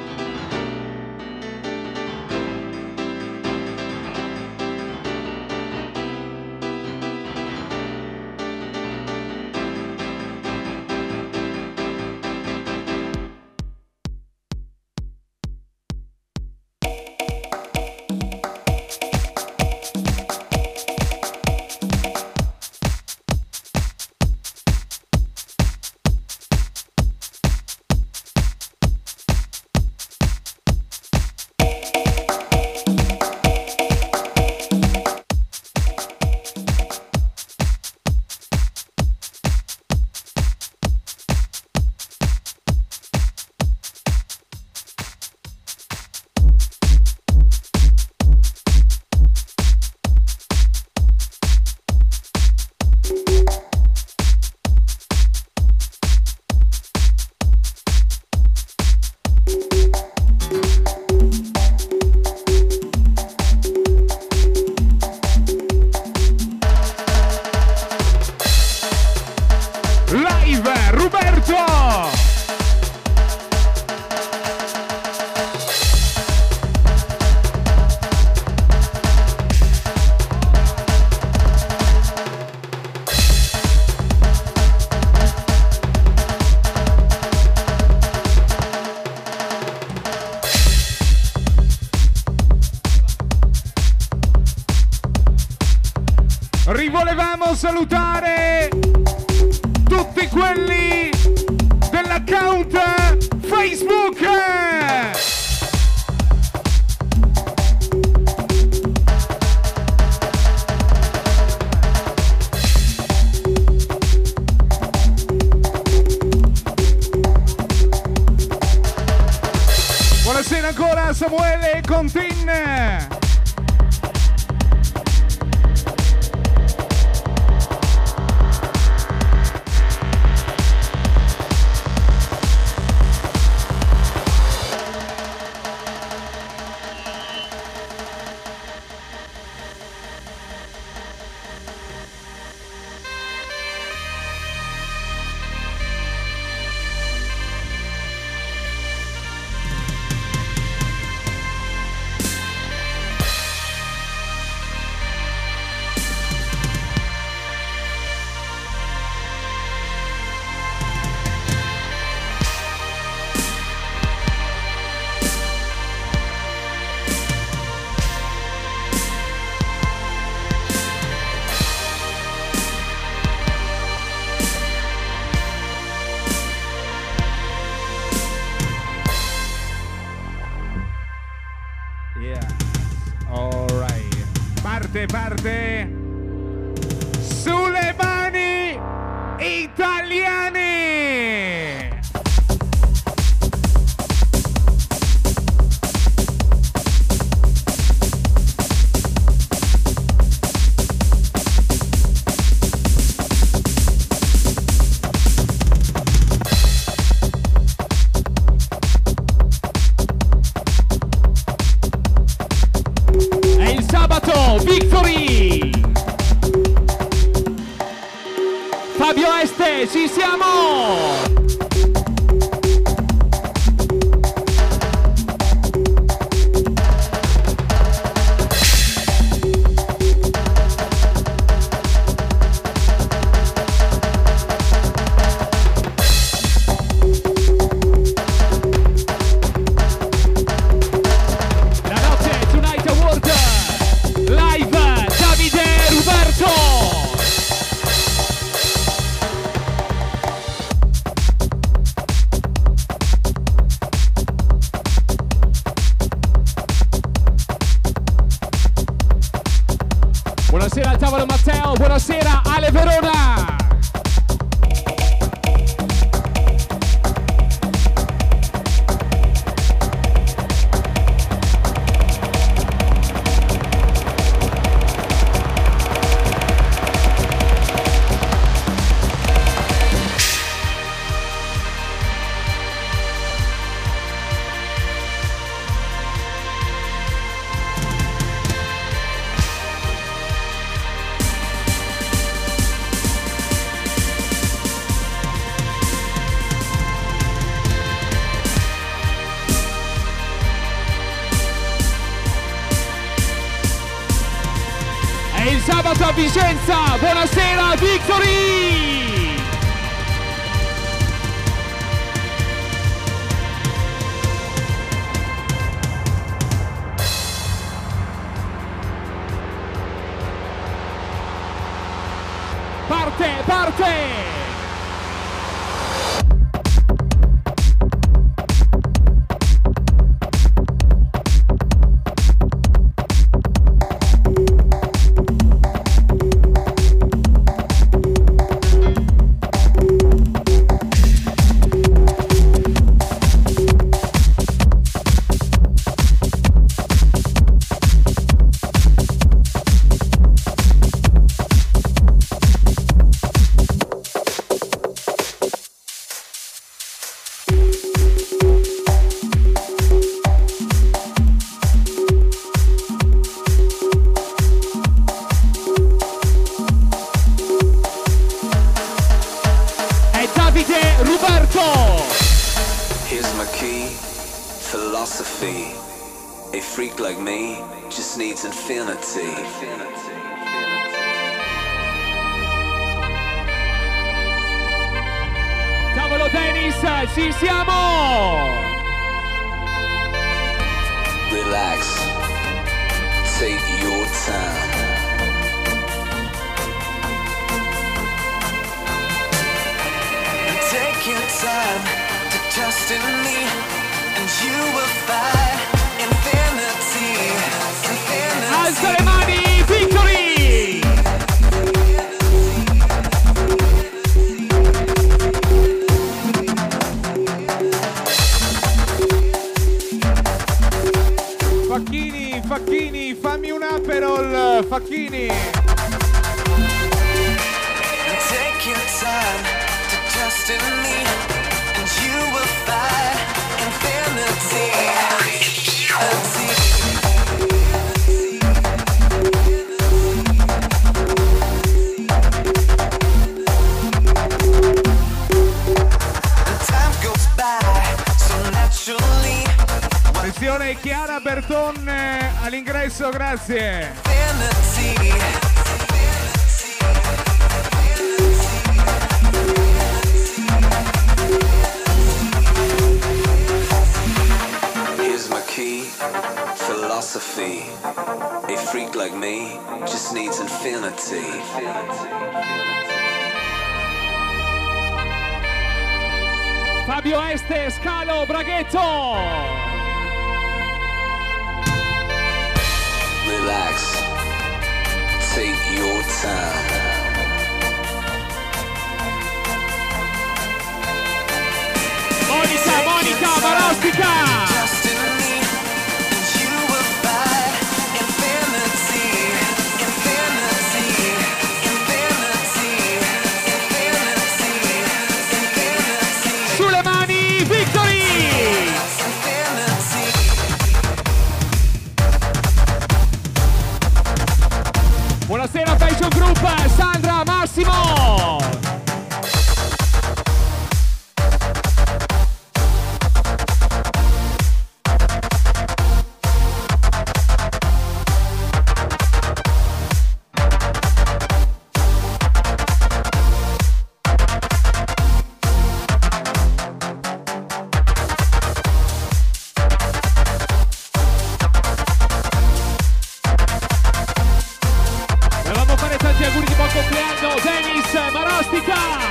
Rivolevamo salutare tutti quelli dell'account Facebook. Buonasera ancora Samuele Contin. parte. Sulle mani italiane. È il sabato, Victory! Fabio Este, ci siamo! La notte Tonight Award live Davide Ruberto! Buonasera al tavolo Matteo, buonasera Ale Verona! È il sabato a Vicenza, buonasera Victory! Parte, parte! È Davide Ruberto! Here's my key, philosophy. A freak like me just needs infinity. Tavolo tennis, ci siamo! Relax, take your time. Take your time to trust in me, and you will find infinity. Infinity. Alza le mani, Victory! Facchini, Facchini, fammi un Aperol, Facchini. Take your time to trust in me, and you will find infinity. Infinity. And time goes by so naturally. Attenzione Chiara Berton eh, all'ingresso, grazie. Infinity. Here's my key, philosophy. A freak like me just needs infinity. Fabio Este, Scalo, Braghetto! Relax, take your time. Monica, Monica, Marostica! Just in me, and you will find infinity, infinity, infinity, infinity, infinity. Sulle mani, Victory! Infinity. Buonasera Fashion Group, Sandra, Massimo! Volevamo fare tanti auguri di buon compleanno, Dennis Marostica!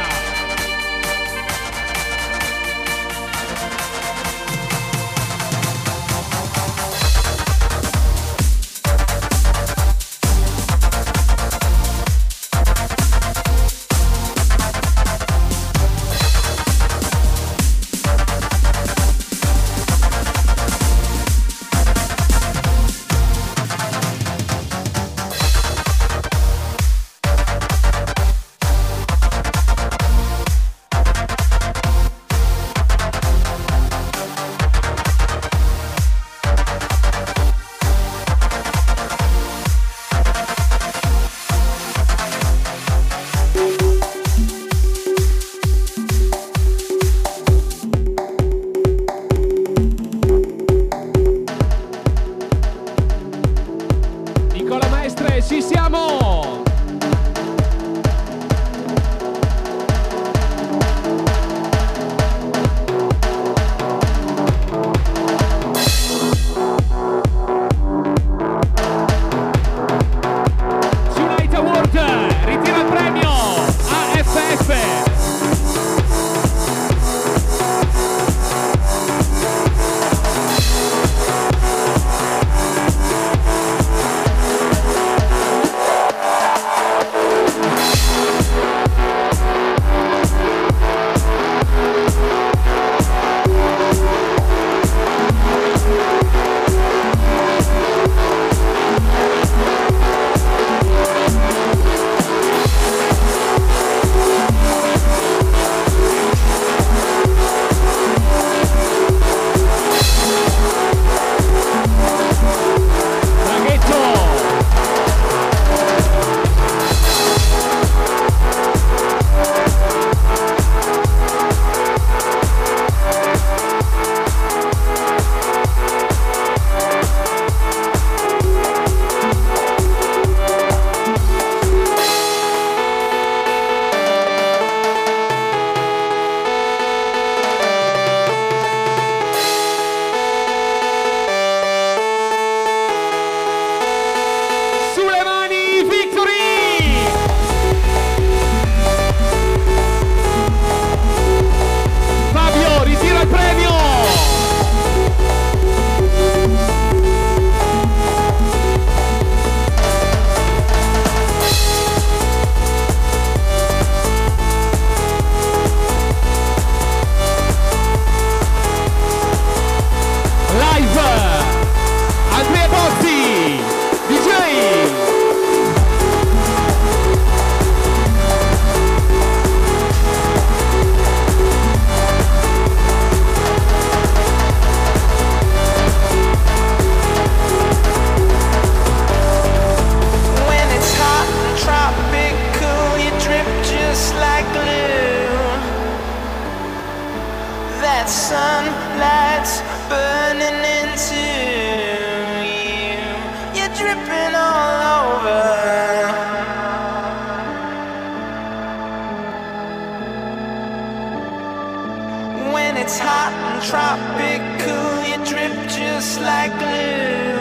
Nicola Maestre, ci siamo! Unite Award, ritira il premio A F F! Sulle mani, Victory! Fabio, ritira il premio! Live! Andrea Bozzi! D J! When it's hot and tropical, you drip just like glue. That sunlight's burning into you. You're dripping all over. When it's hot and tropical, you drip just like glue.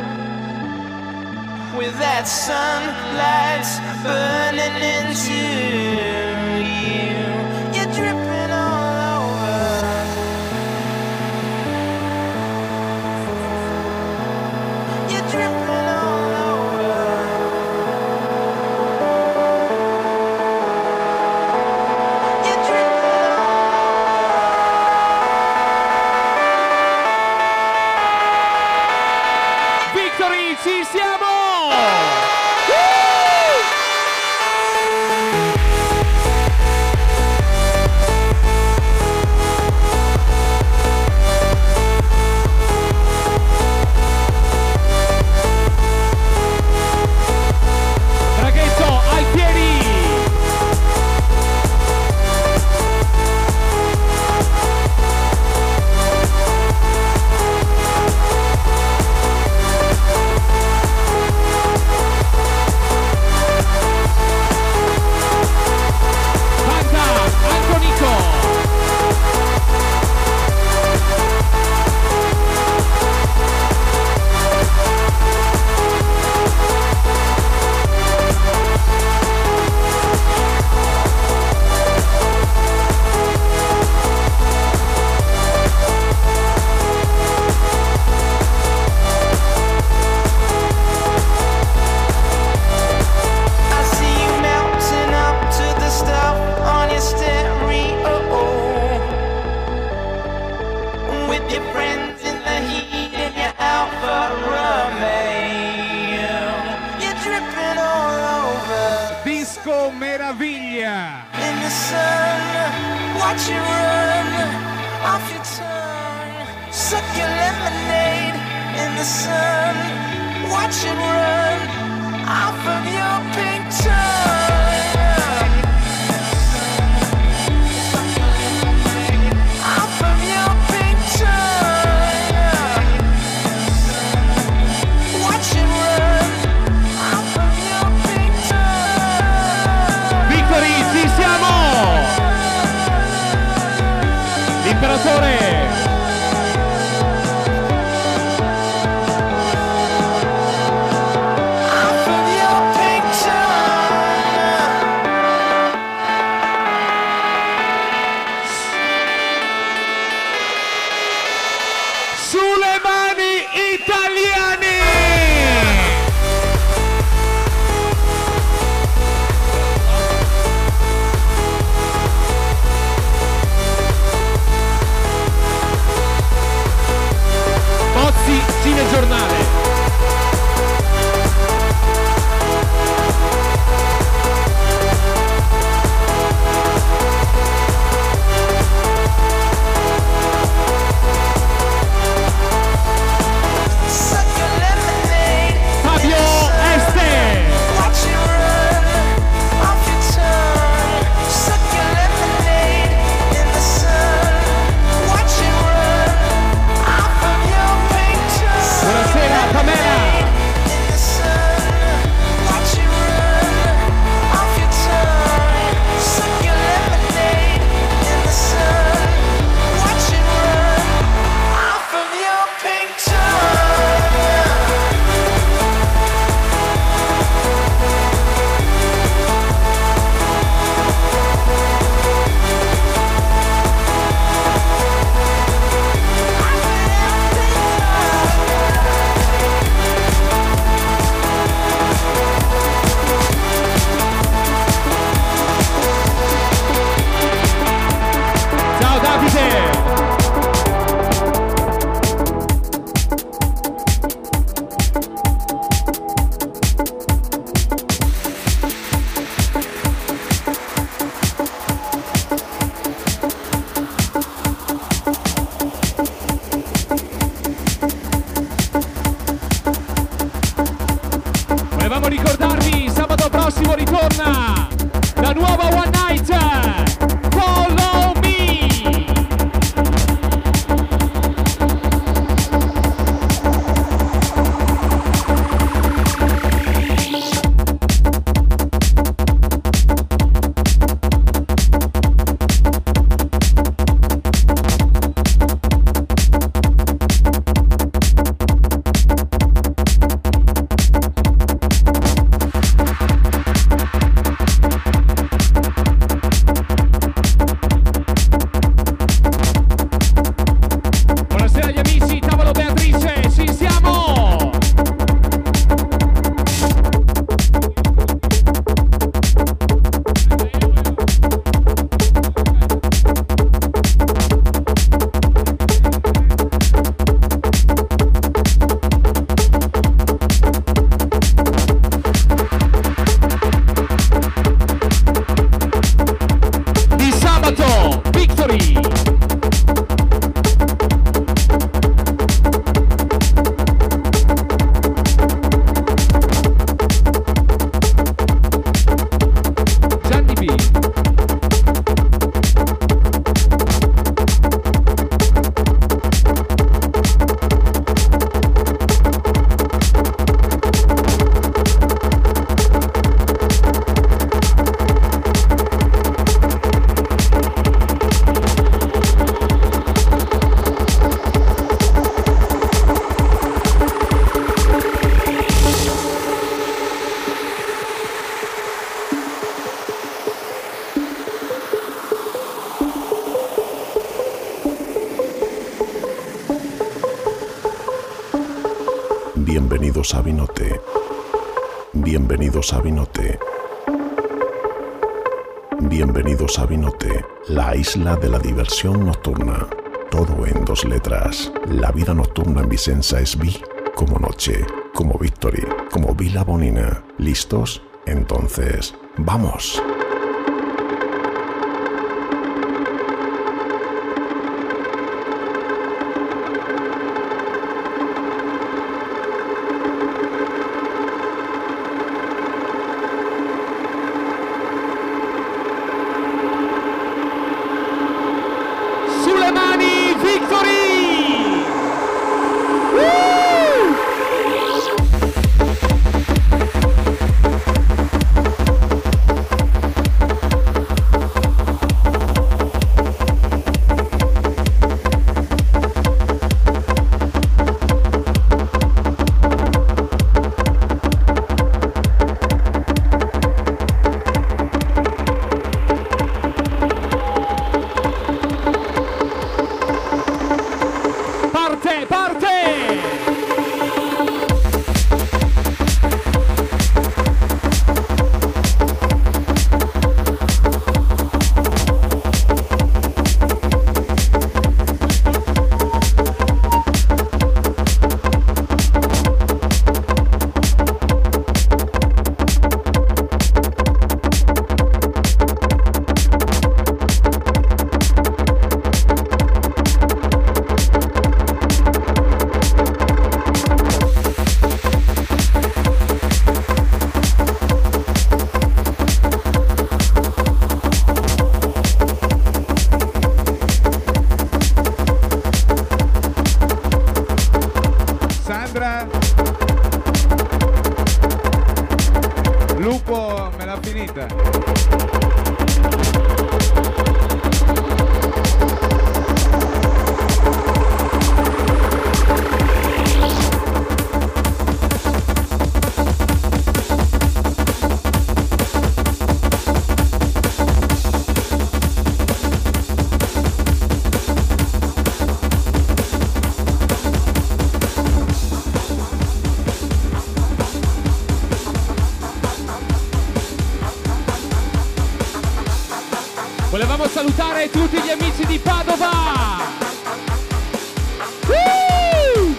With that sunlight burning into you, you're dripping all over. You're dripping all over. watch you run off your tongue. Suck your lemonade in the sun. Watch it run off of your pink tongue. Off of your pink tongue. Watch it run off of your pink tongue. Victory, ci siamo! L'imperatore! Giornale. Fabio Este. Volevamo ricordarvi, sabato prossimo ritorna la nuova One Night, Follow Me. Bienvenidos a Vinote. Bienvenidos a Vinote. Bienvenidos a Vinote, la isla de la diversión nocturna. Todo en dos letras. La vida nocturna en Vicenza es vi como noche, como Victory, como Vila Bonina. ¿Listos? Entonces, ¡vamos! Victory! Woo! Parte, parte! Sandra, Lupo me l'ha finita. Volevamo salutare tutti gli amici di Padova! Woo!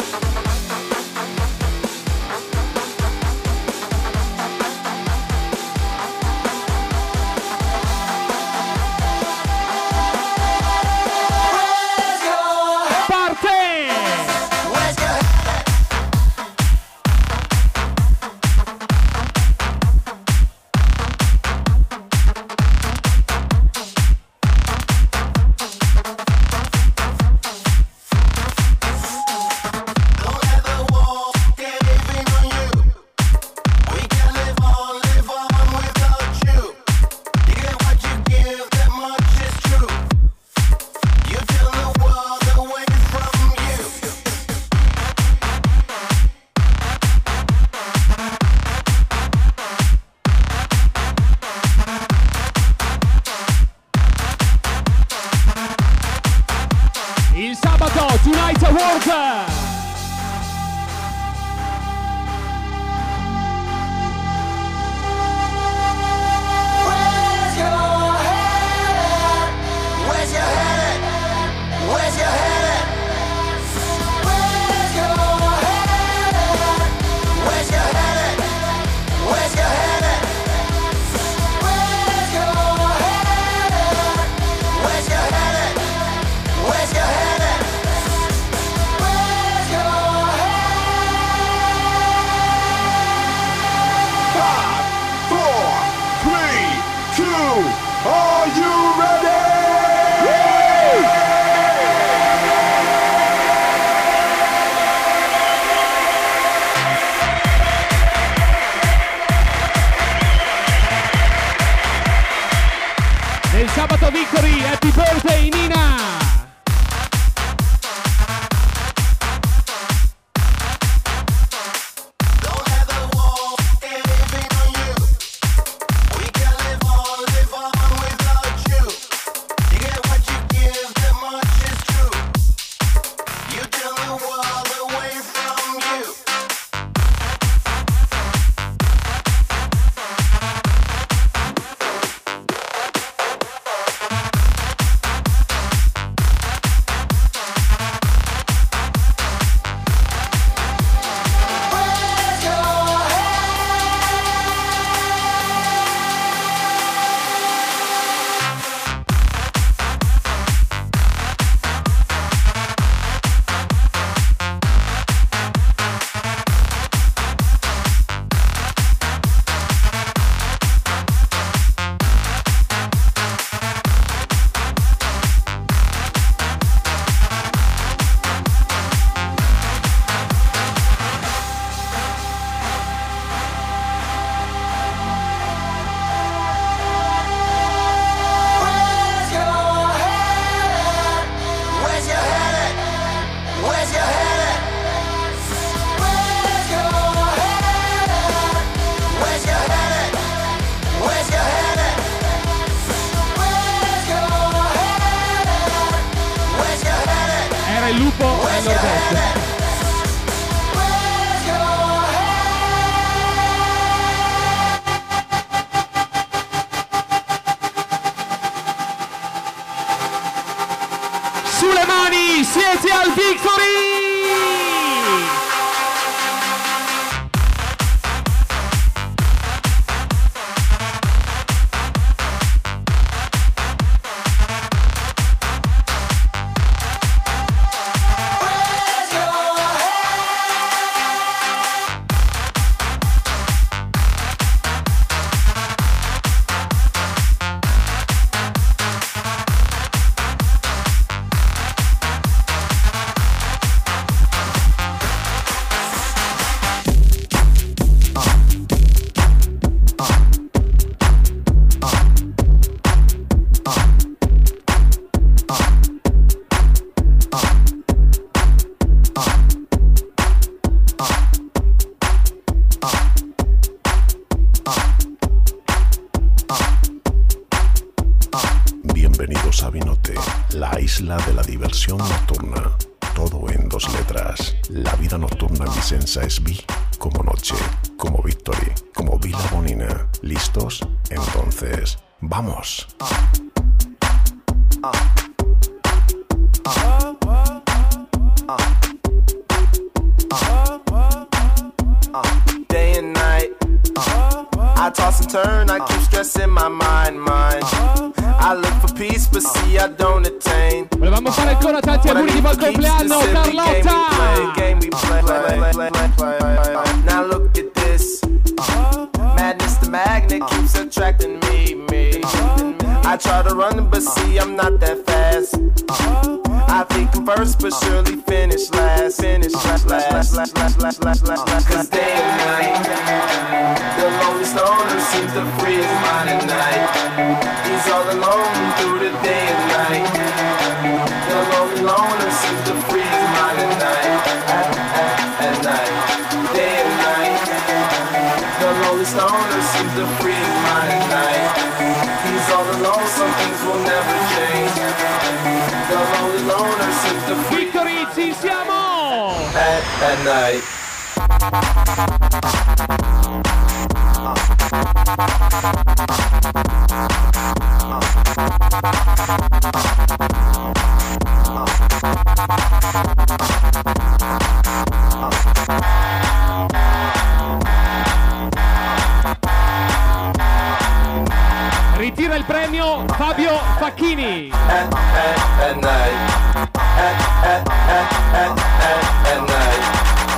Parte! Il sabato Tonight Award! Where's your head at? il lupo nel nord-est. Sulle mani, siete al Victory! Bienvenidos a Vinote, la isla de la diversión nocturna. Todo en dos letras. La vida nocturna en Vicenza es Vi como noche, como Victory, como Vila Bonina. ¿Listos? Entonces, ¡vamos! Day and night, I toss and turn, I keep stressing my mind, mind. I look for peace, but see I don't attain. Volevamo fare ancora tanti auguri di buon compleanno, Carlotta! Now look at this, madness, the magnet keeps attracting me, me. I try to run, but see I'm not that fast. I think I'm first, but surely finish last. Finish last, last, last, last, last, last, last. Cause day and night, the lonely stoner seems to free his mind at night. He's all alone through the day and night. The lonely loner seems to free his mind at night. At, at, at night, day and night. The lonely stoner seems to free his mind at night. He's all alone, some things will never change. The lonely loner seems to free. Victory, ci siamo! At, at night. Ritira il premio Fabio Facchini. At, at, at night. At, at, at, at, at, at night.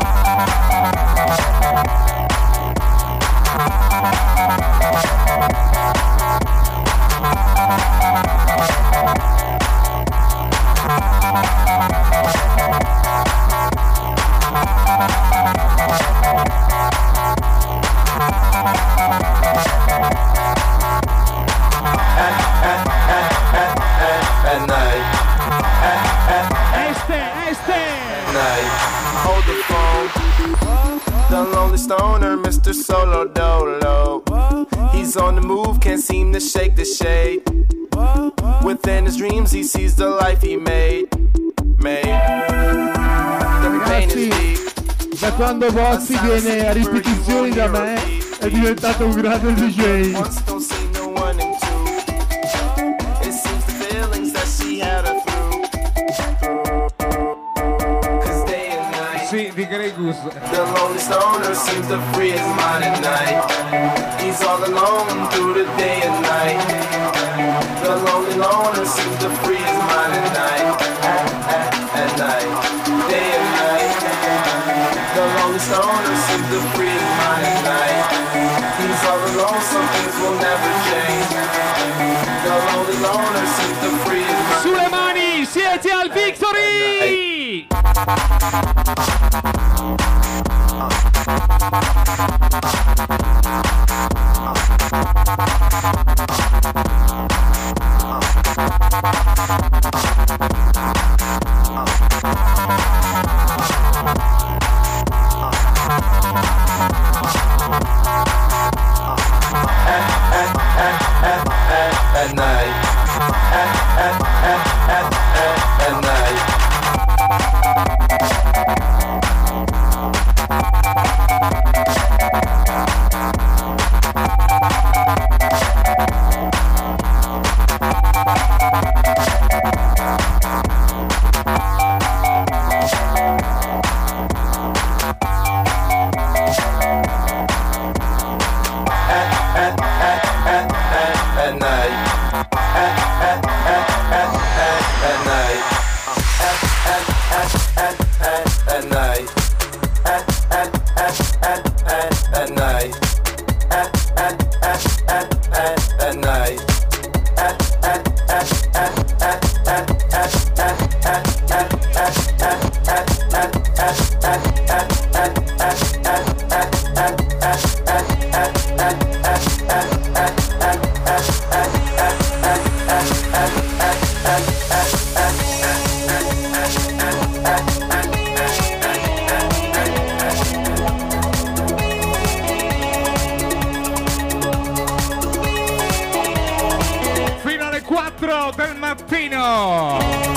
At night. Este, este. At night. Hold the phone. The lonely stoner, Mister Solo Dolo. He's on the move, can't seem to shake the shade. Within his dreams, he sees the life he made. Made. The pain is deep. Da quando Bozzi viene a ripetizioni da me è diventato un grande D J. Once don't see no one and two. It seems the feelings that she had her through. Cause day and night. Sì, di Gregus. The lonely stoner seems to free his mind at night. He's all alone through the day and night. The lonely loner seems to free his mind at night. At, at, at night. Day and night. The lonely stoner seems to free his mind at night. He's all alone, some things will never change. The lonely loner seems to free his mind. Sulle mani, siete al Victory! At night. At, at, at, at, at, at night. At, at, at, at, at, at night. At, at, at, at, at, at night. At, at, at, at, at, at night. At, at, at, at, at, at, at, at, at, at, at, at, fino alle quattro del mattino.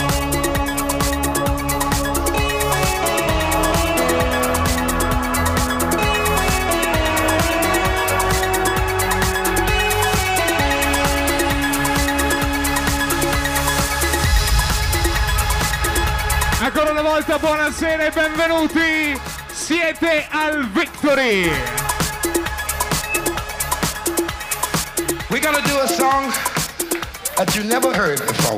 Ancora una volta buonasera e benvenuti, siete al Victory. We're gonna do a song that you never heard before.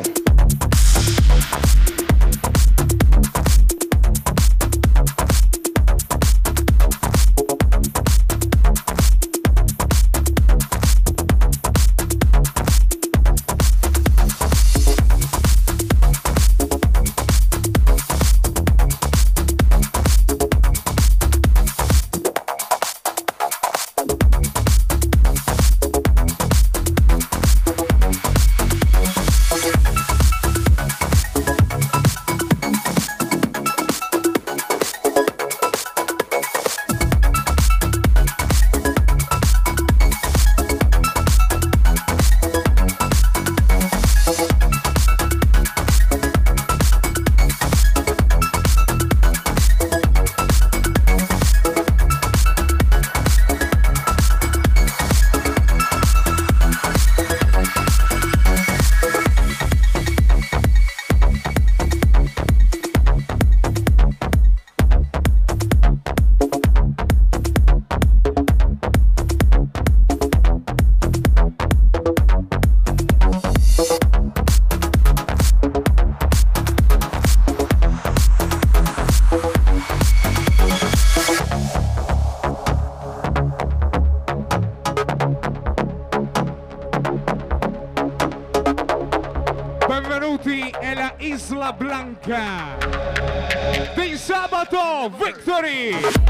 Benvenuti alla Isla Blanca di sabato Victory.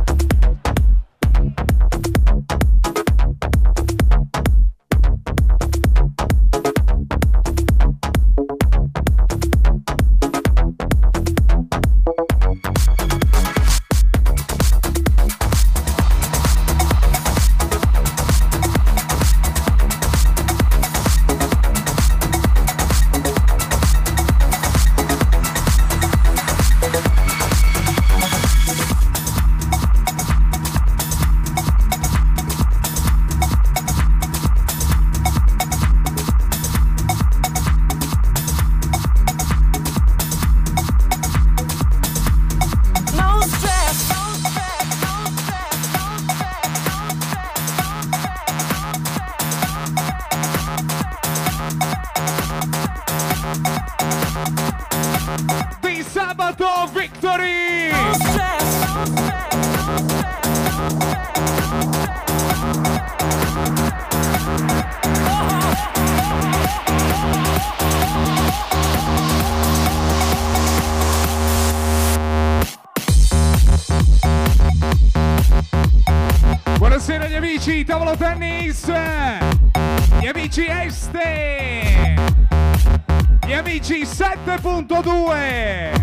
Di sabato Victory! Buonasera agli amici, tavolo tennis, gli amici Este, gli amici sette punto due.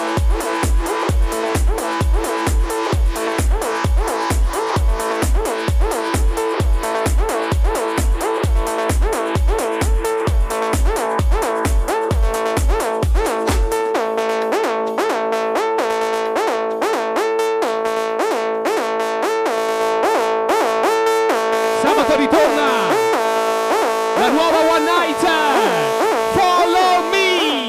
ritorna la nuova One Night, Follow Me.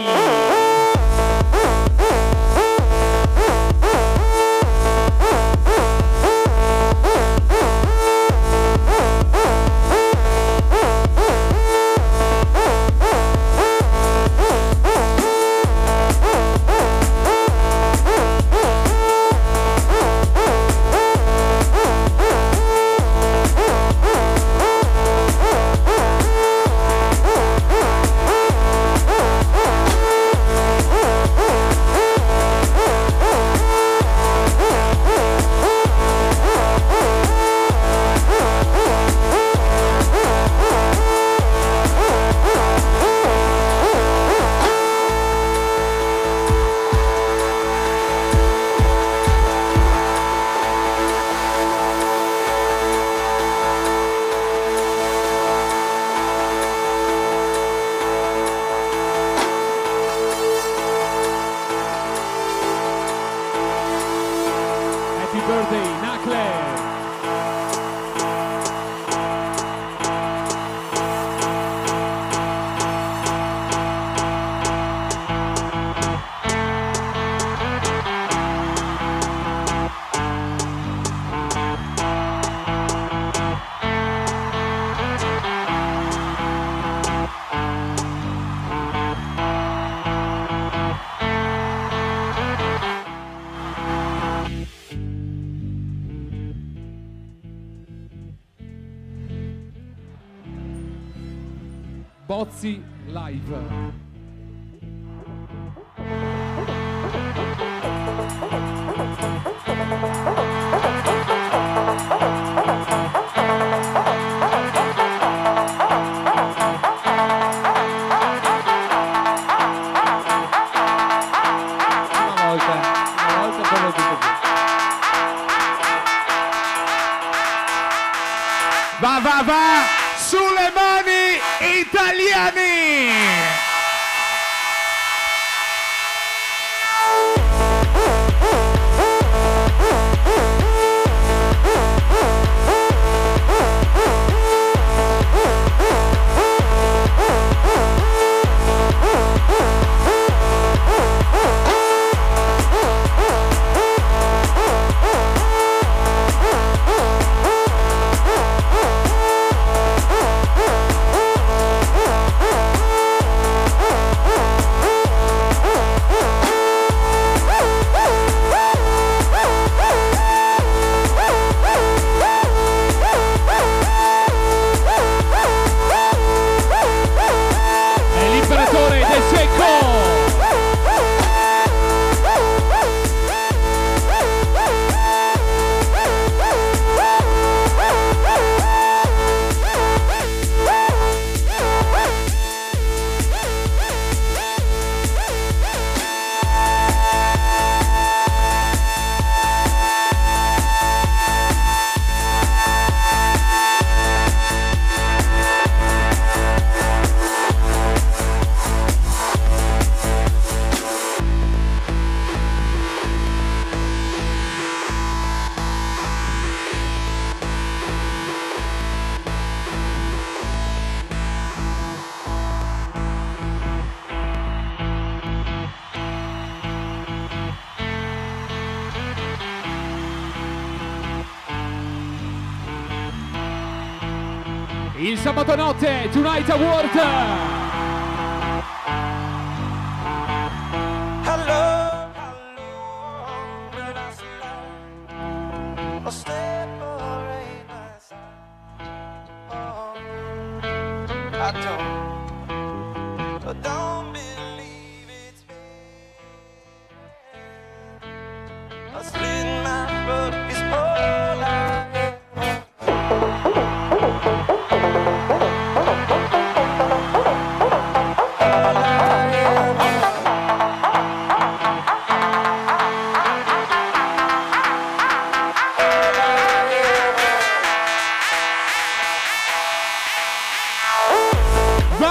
Bozzi live. Va, va, va! Sulle mani italiani! Il sabato notte Tonight Award. Hello, hello, but I slow. I'll separate myself. Oh, I don't, I don't believe it's me. I split my throat is all I have. Va,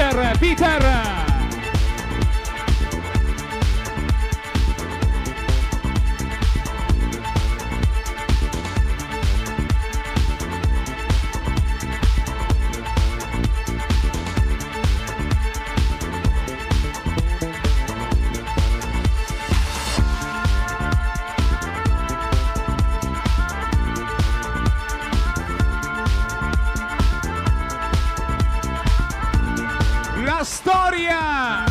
Peter, Peter. La storia!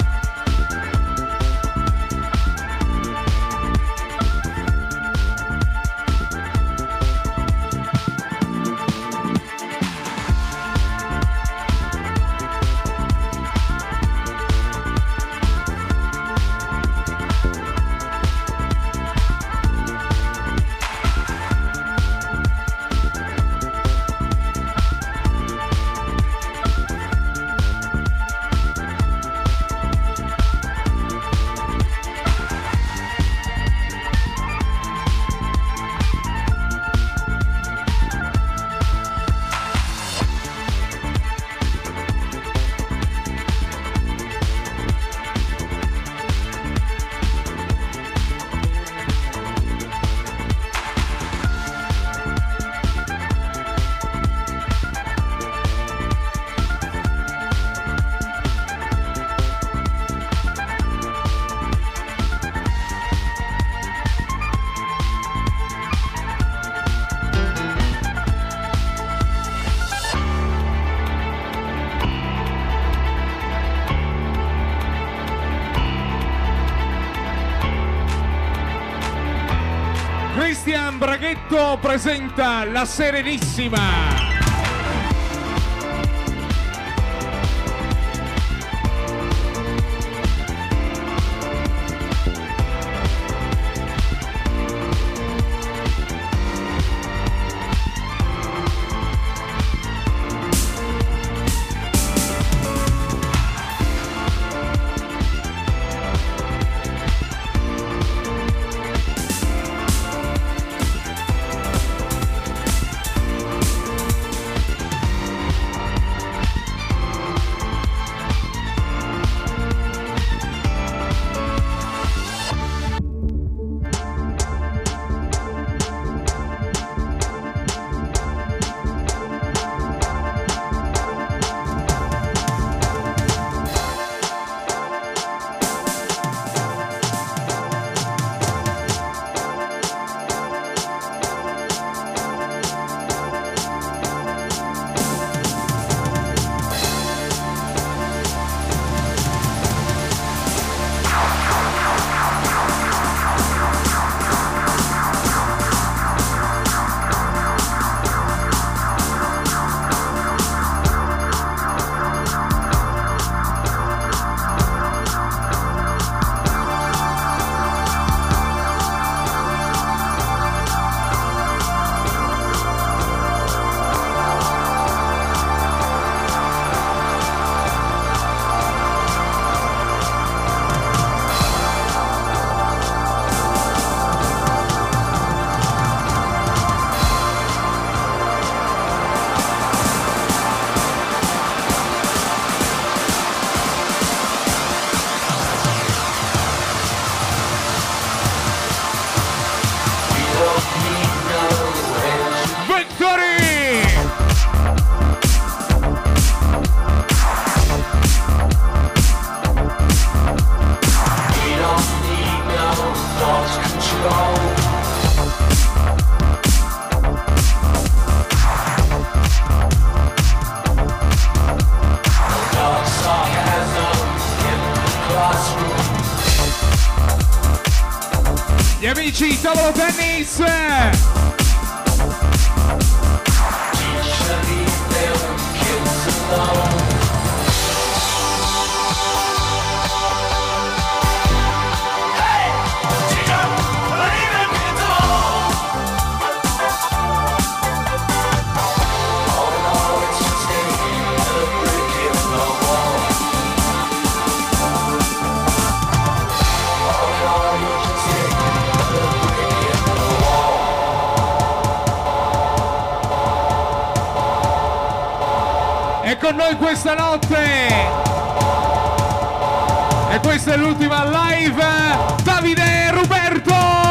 Cristian Braghetto presenta La Serenissima. Gli amici tavolo tennis! con noi questa notte. E questa è l'ultima live. Davide Ruberto.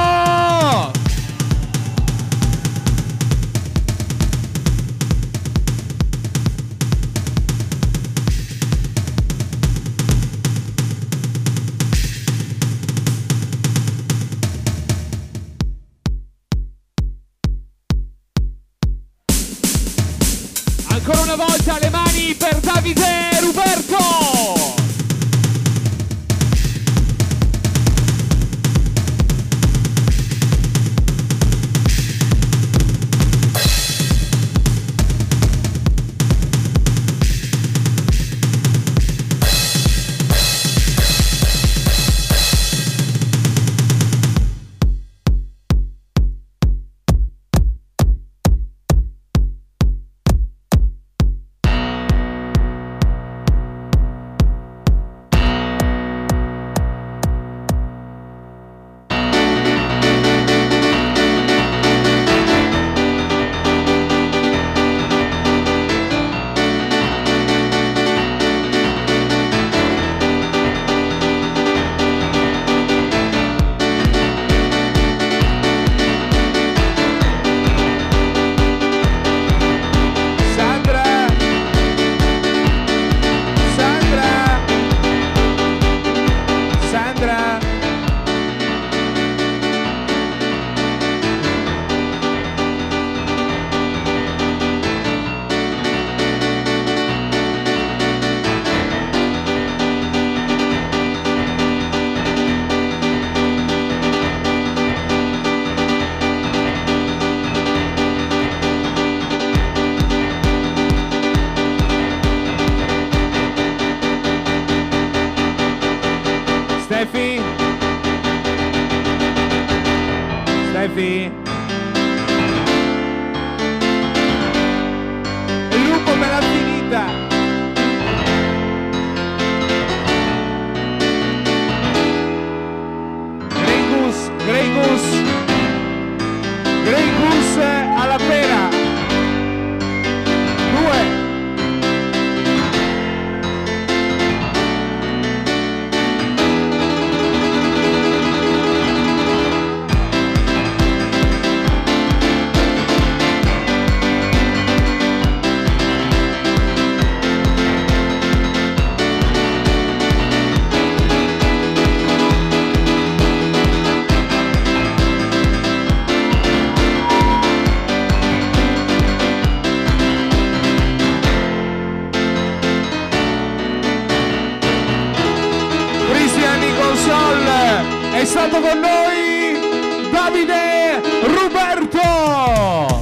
Ancora una volta le mani per Davide Ruberto. Stefi? Stefi? Il lupo me l'ha finita! Grey Goose, Grey Goose, Grey Goose alla pera! Due! È stato con noi Davide Ruberto.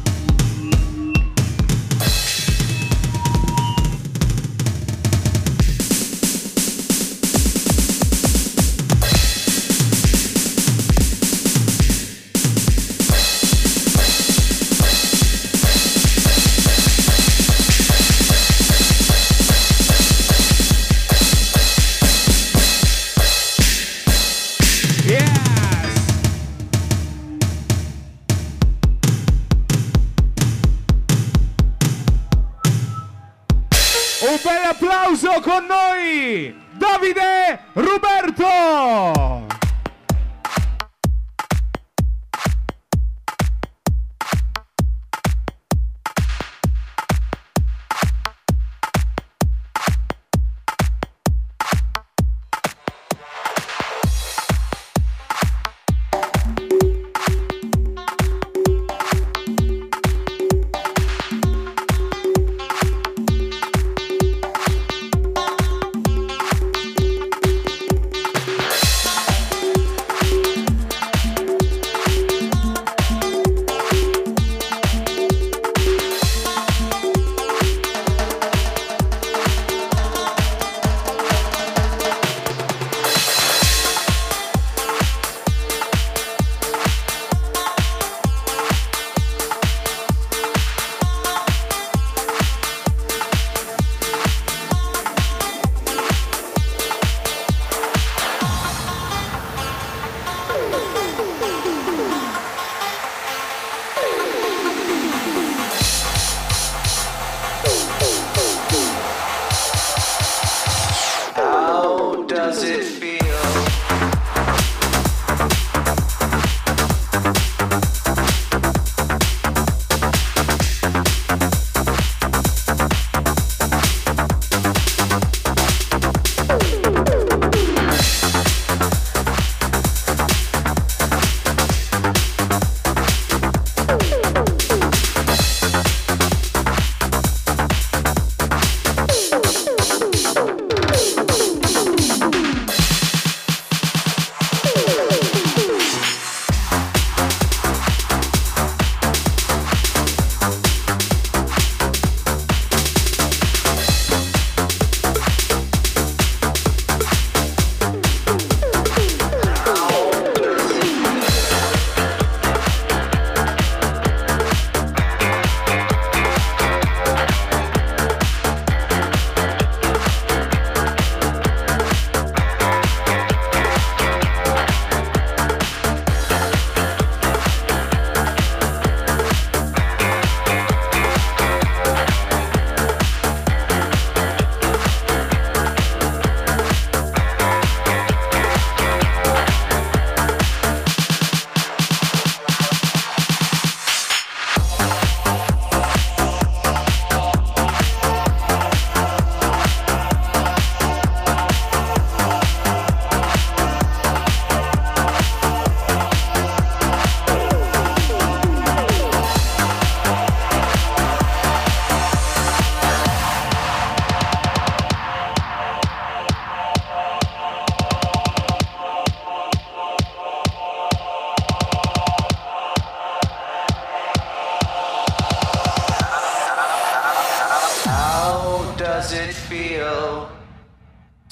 Un bel applauso con noi, Davide Ruberto!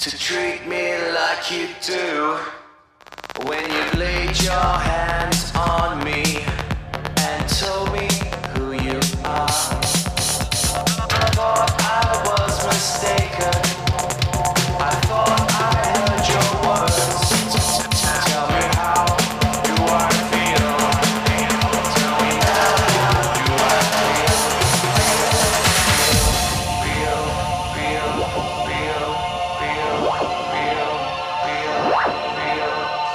to treat me like you do. When you laid your hands on me and told me who you are, I thought I was mistaken. I thought I heard your words. Tell me how do I feel? Tell me now how do I feel? Feel, feel, feel, feel, feel, feel,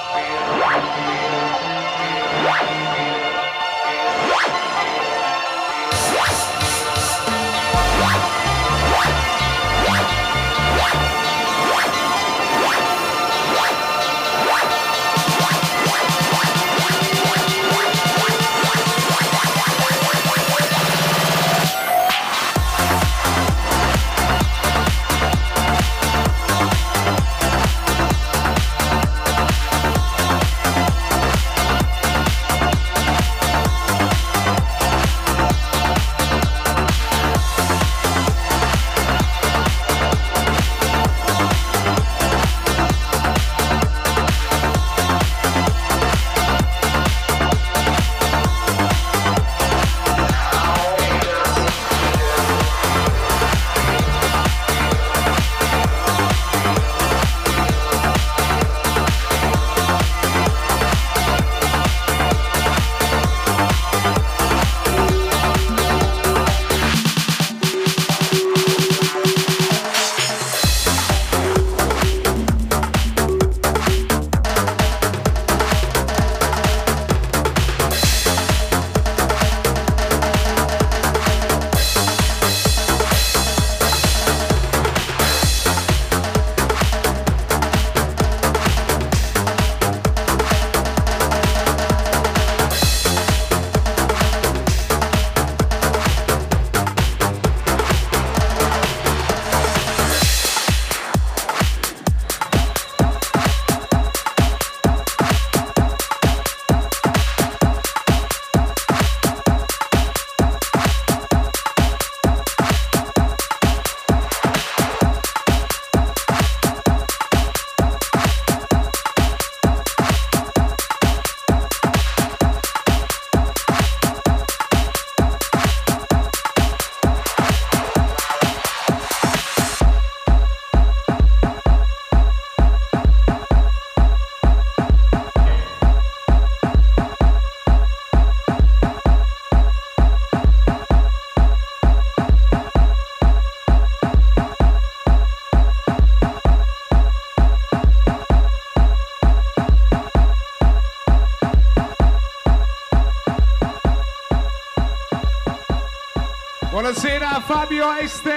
Buonasera Fabio Este.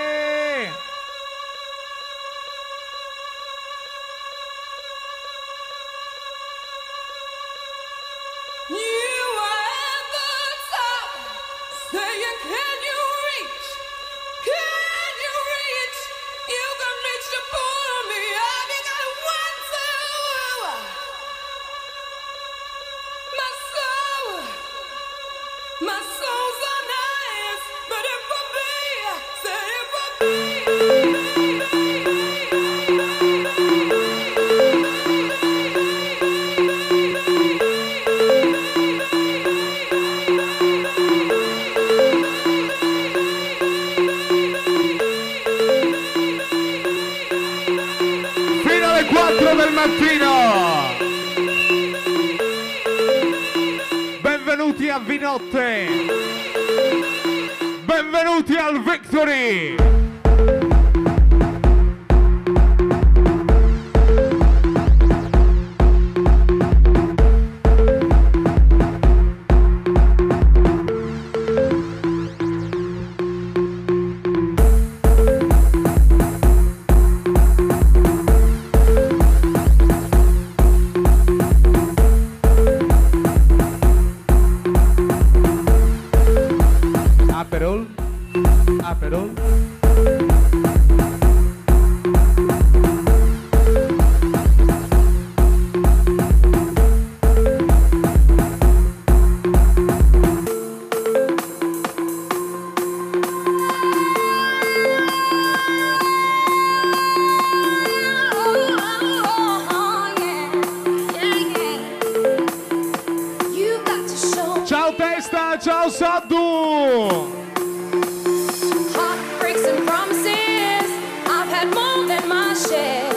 Benvenuti a Vinotte. Benvenuti al Victory. Aperol, Aperol. Daysta, ciao Saddu! Heartbreaks and promises, I've had more than my share.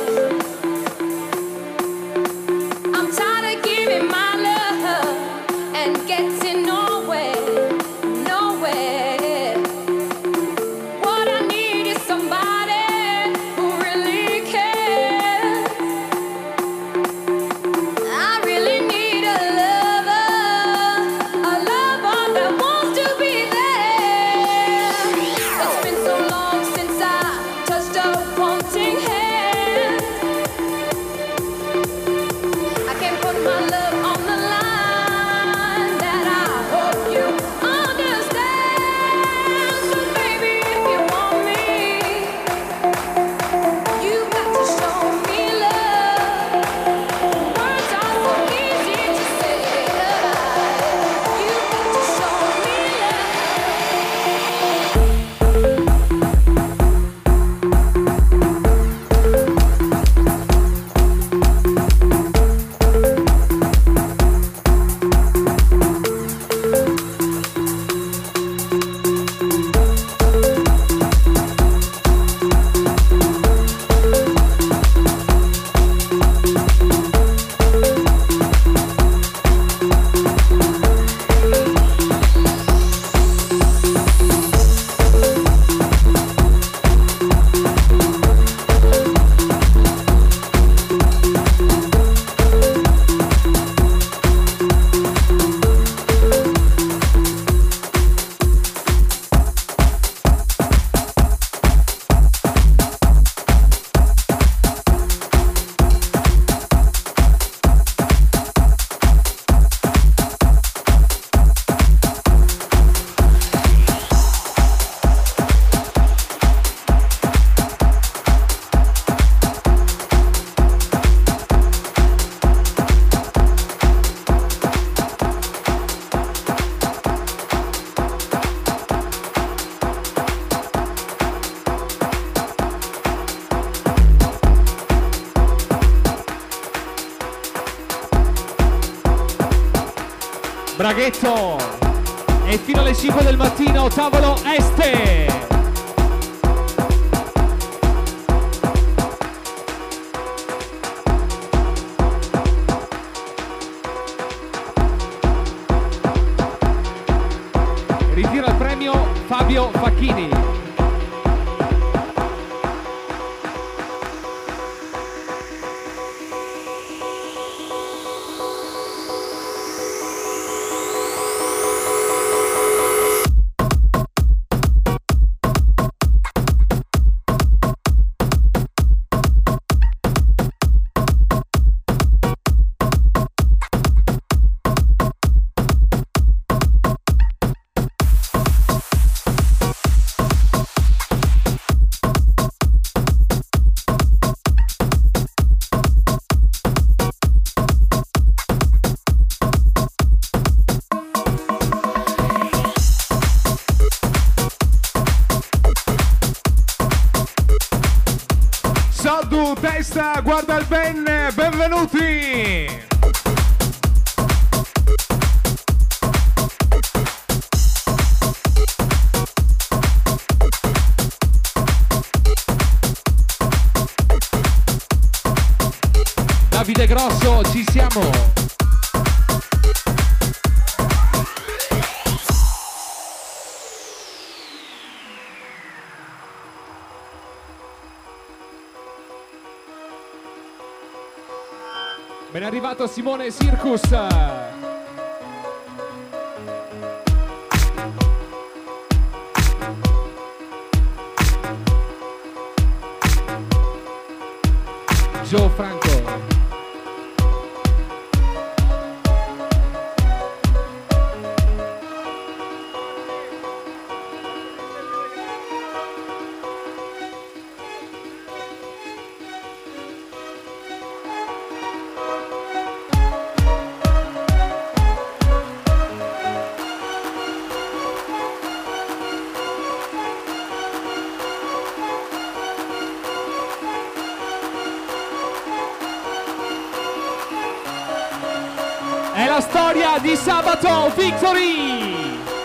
I'm tired of giving my love and getting nowhere, nowhere. What I need is somebody who really cares. I really need a lover, a lover that wants to be there. It's been so long since I touched a wanting hand. I can't put my love on the line, that I hope you understand. So baby, if you want me, you got to show me love. Words are so easy to say, you got to show me Braghetto! E fino alle cinque del mattino, tavolo este! Ritira il premio Fabio Facchini. Saddu, Daysta, guarda il ben, benvenuti! Davide Grosso, ci siamo! Ben arrivato Simone Circus. Joe Franco. È la storia di Sabato Victory!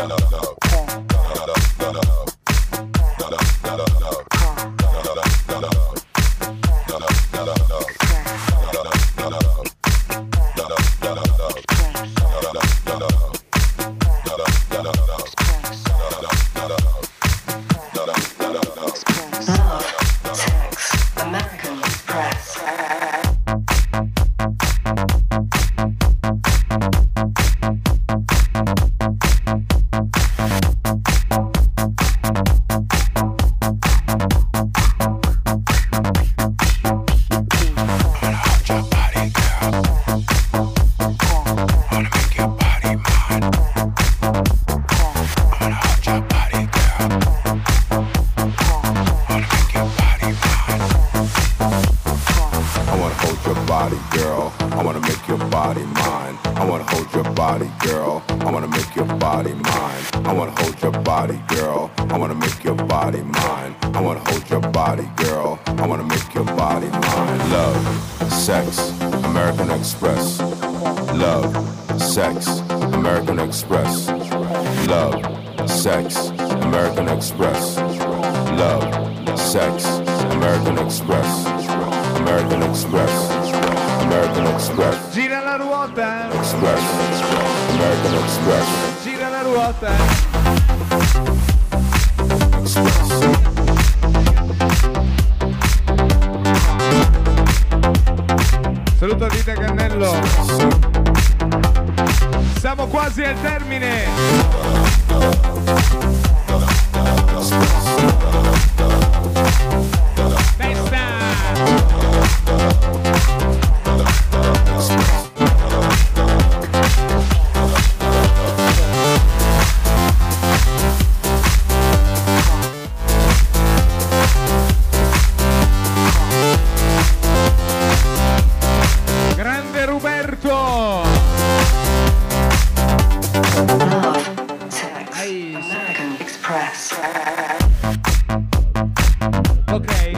Saluto a Dita Cannello. Siamo quasi al termine. Grande Roberto. American Express. Ok.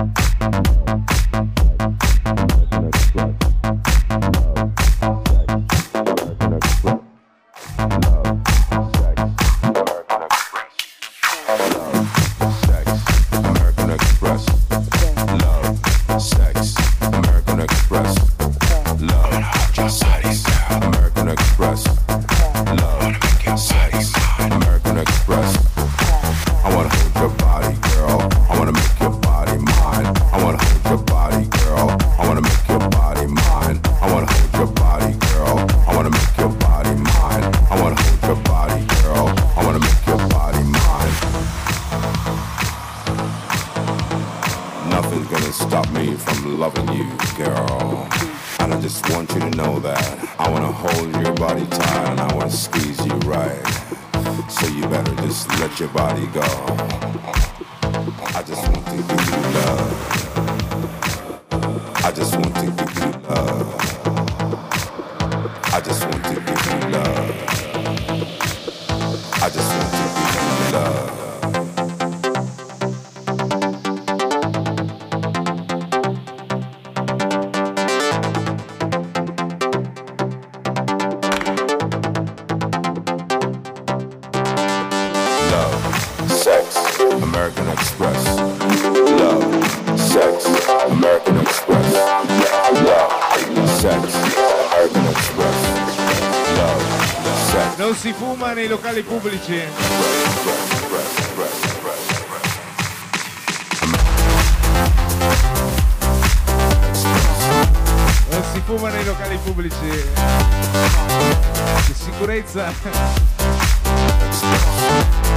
Non si fuma nei locali pubblici. Non si fuma nei locali pubblici. Di sicurezza.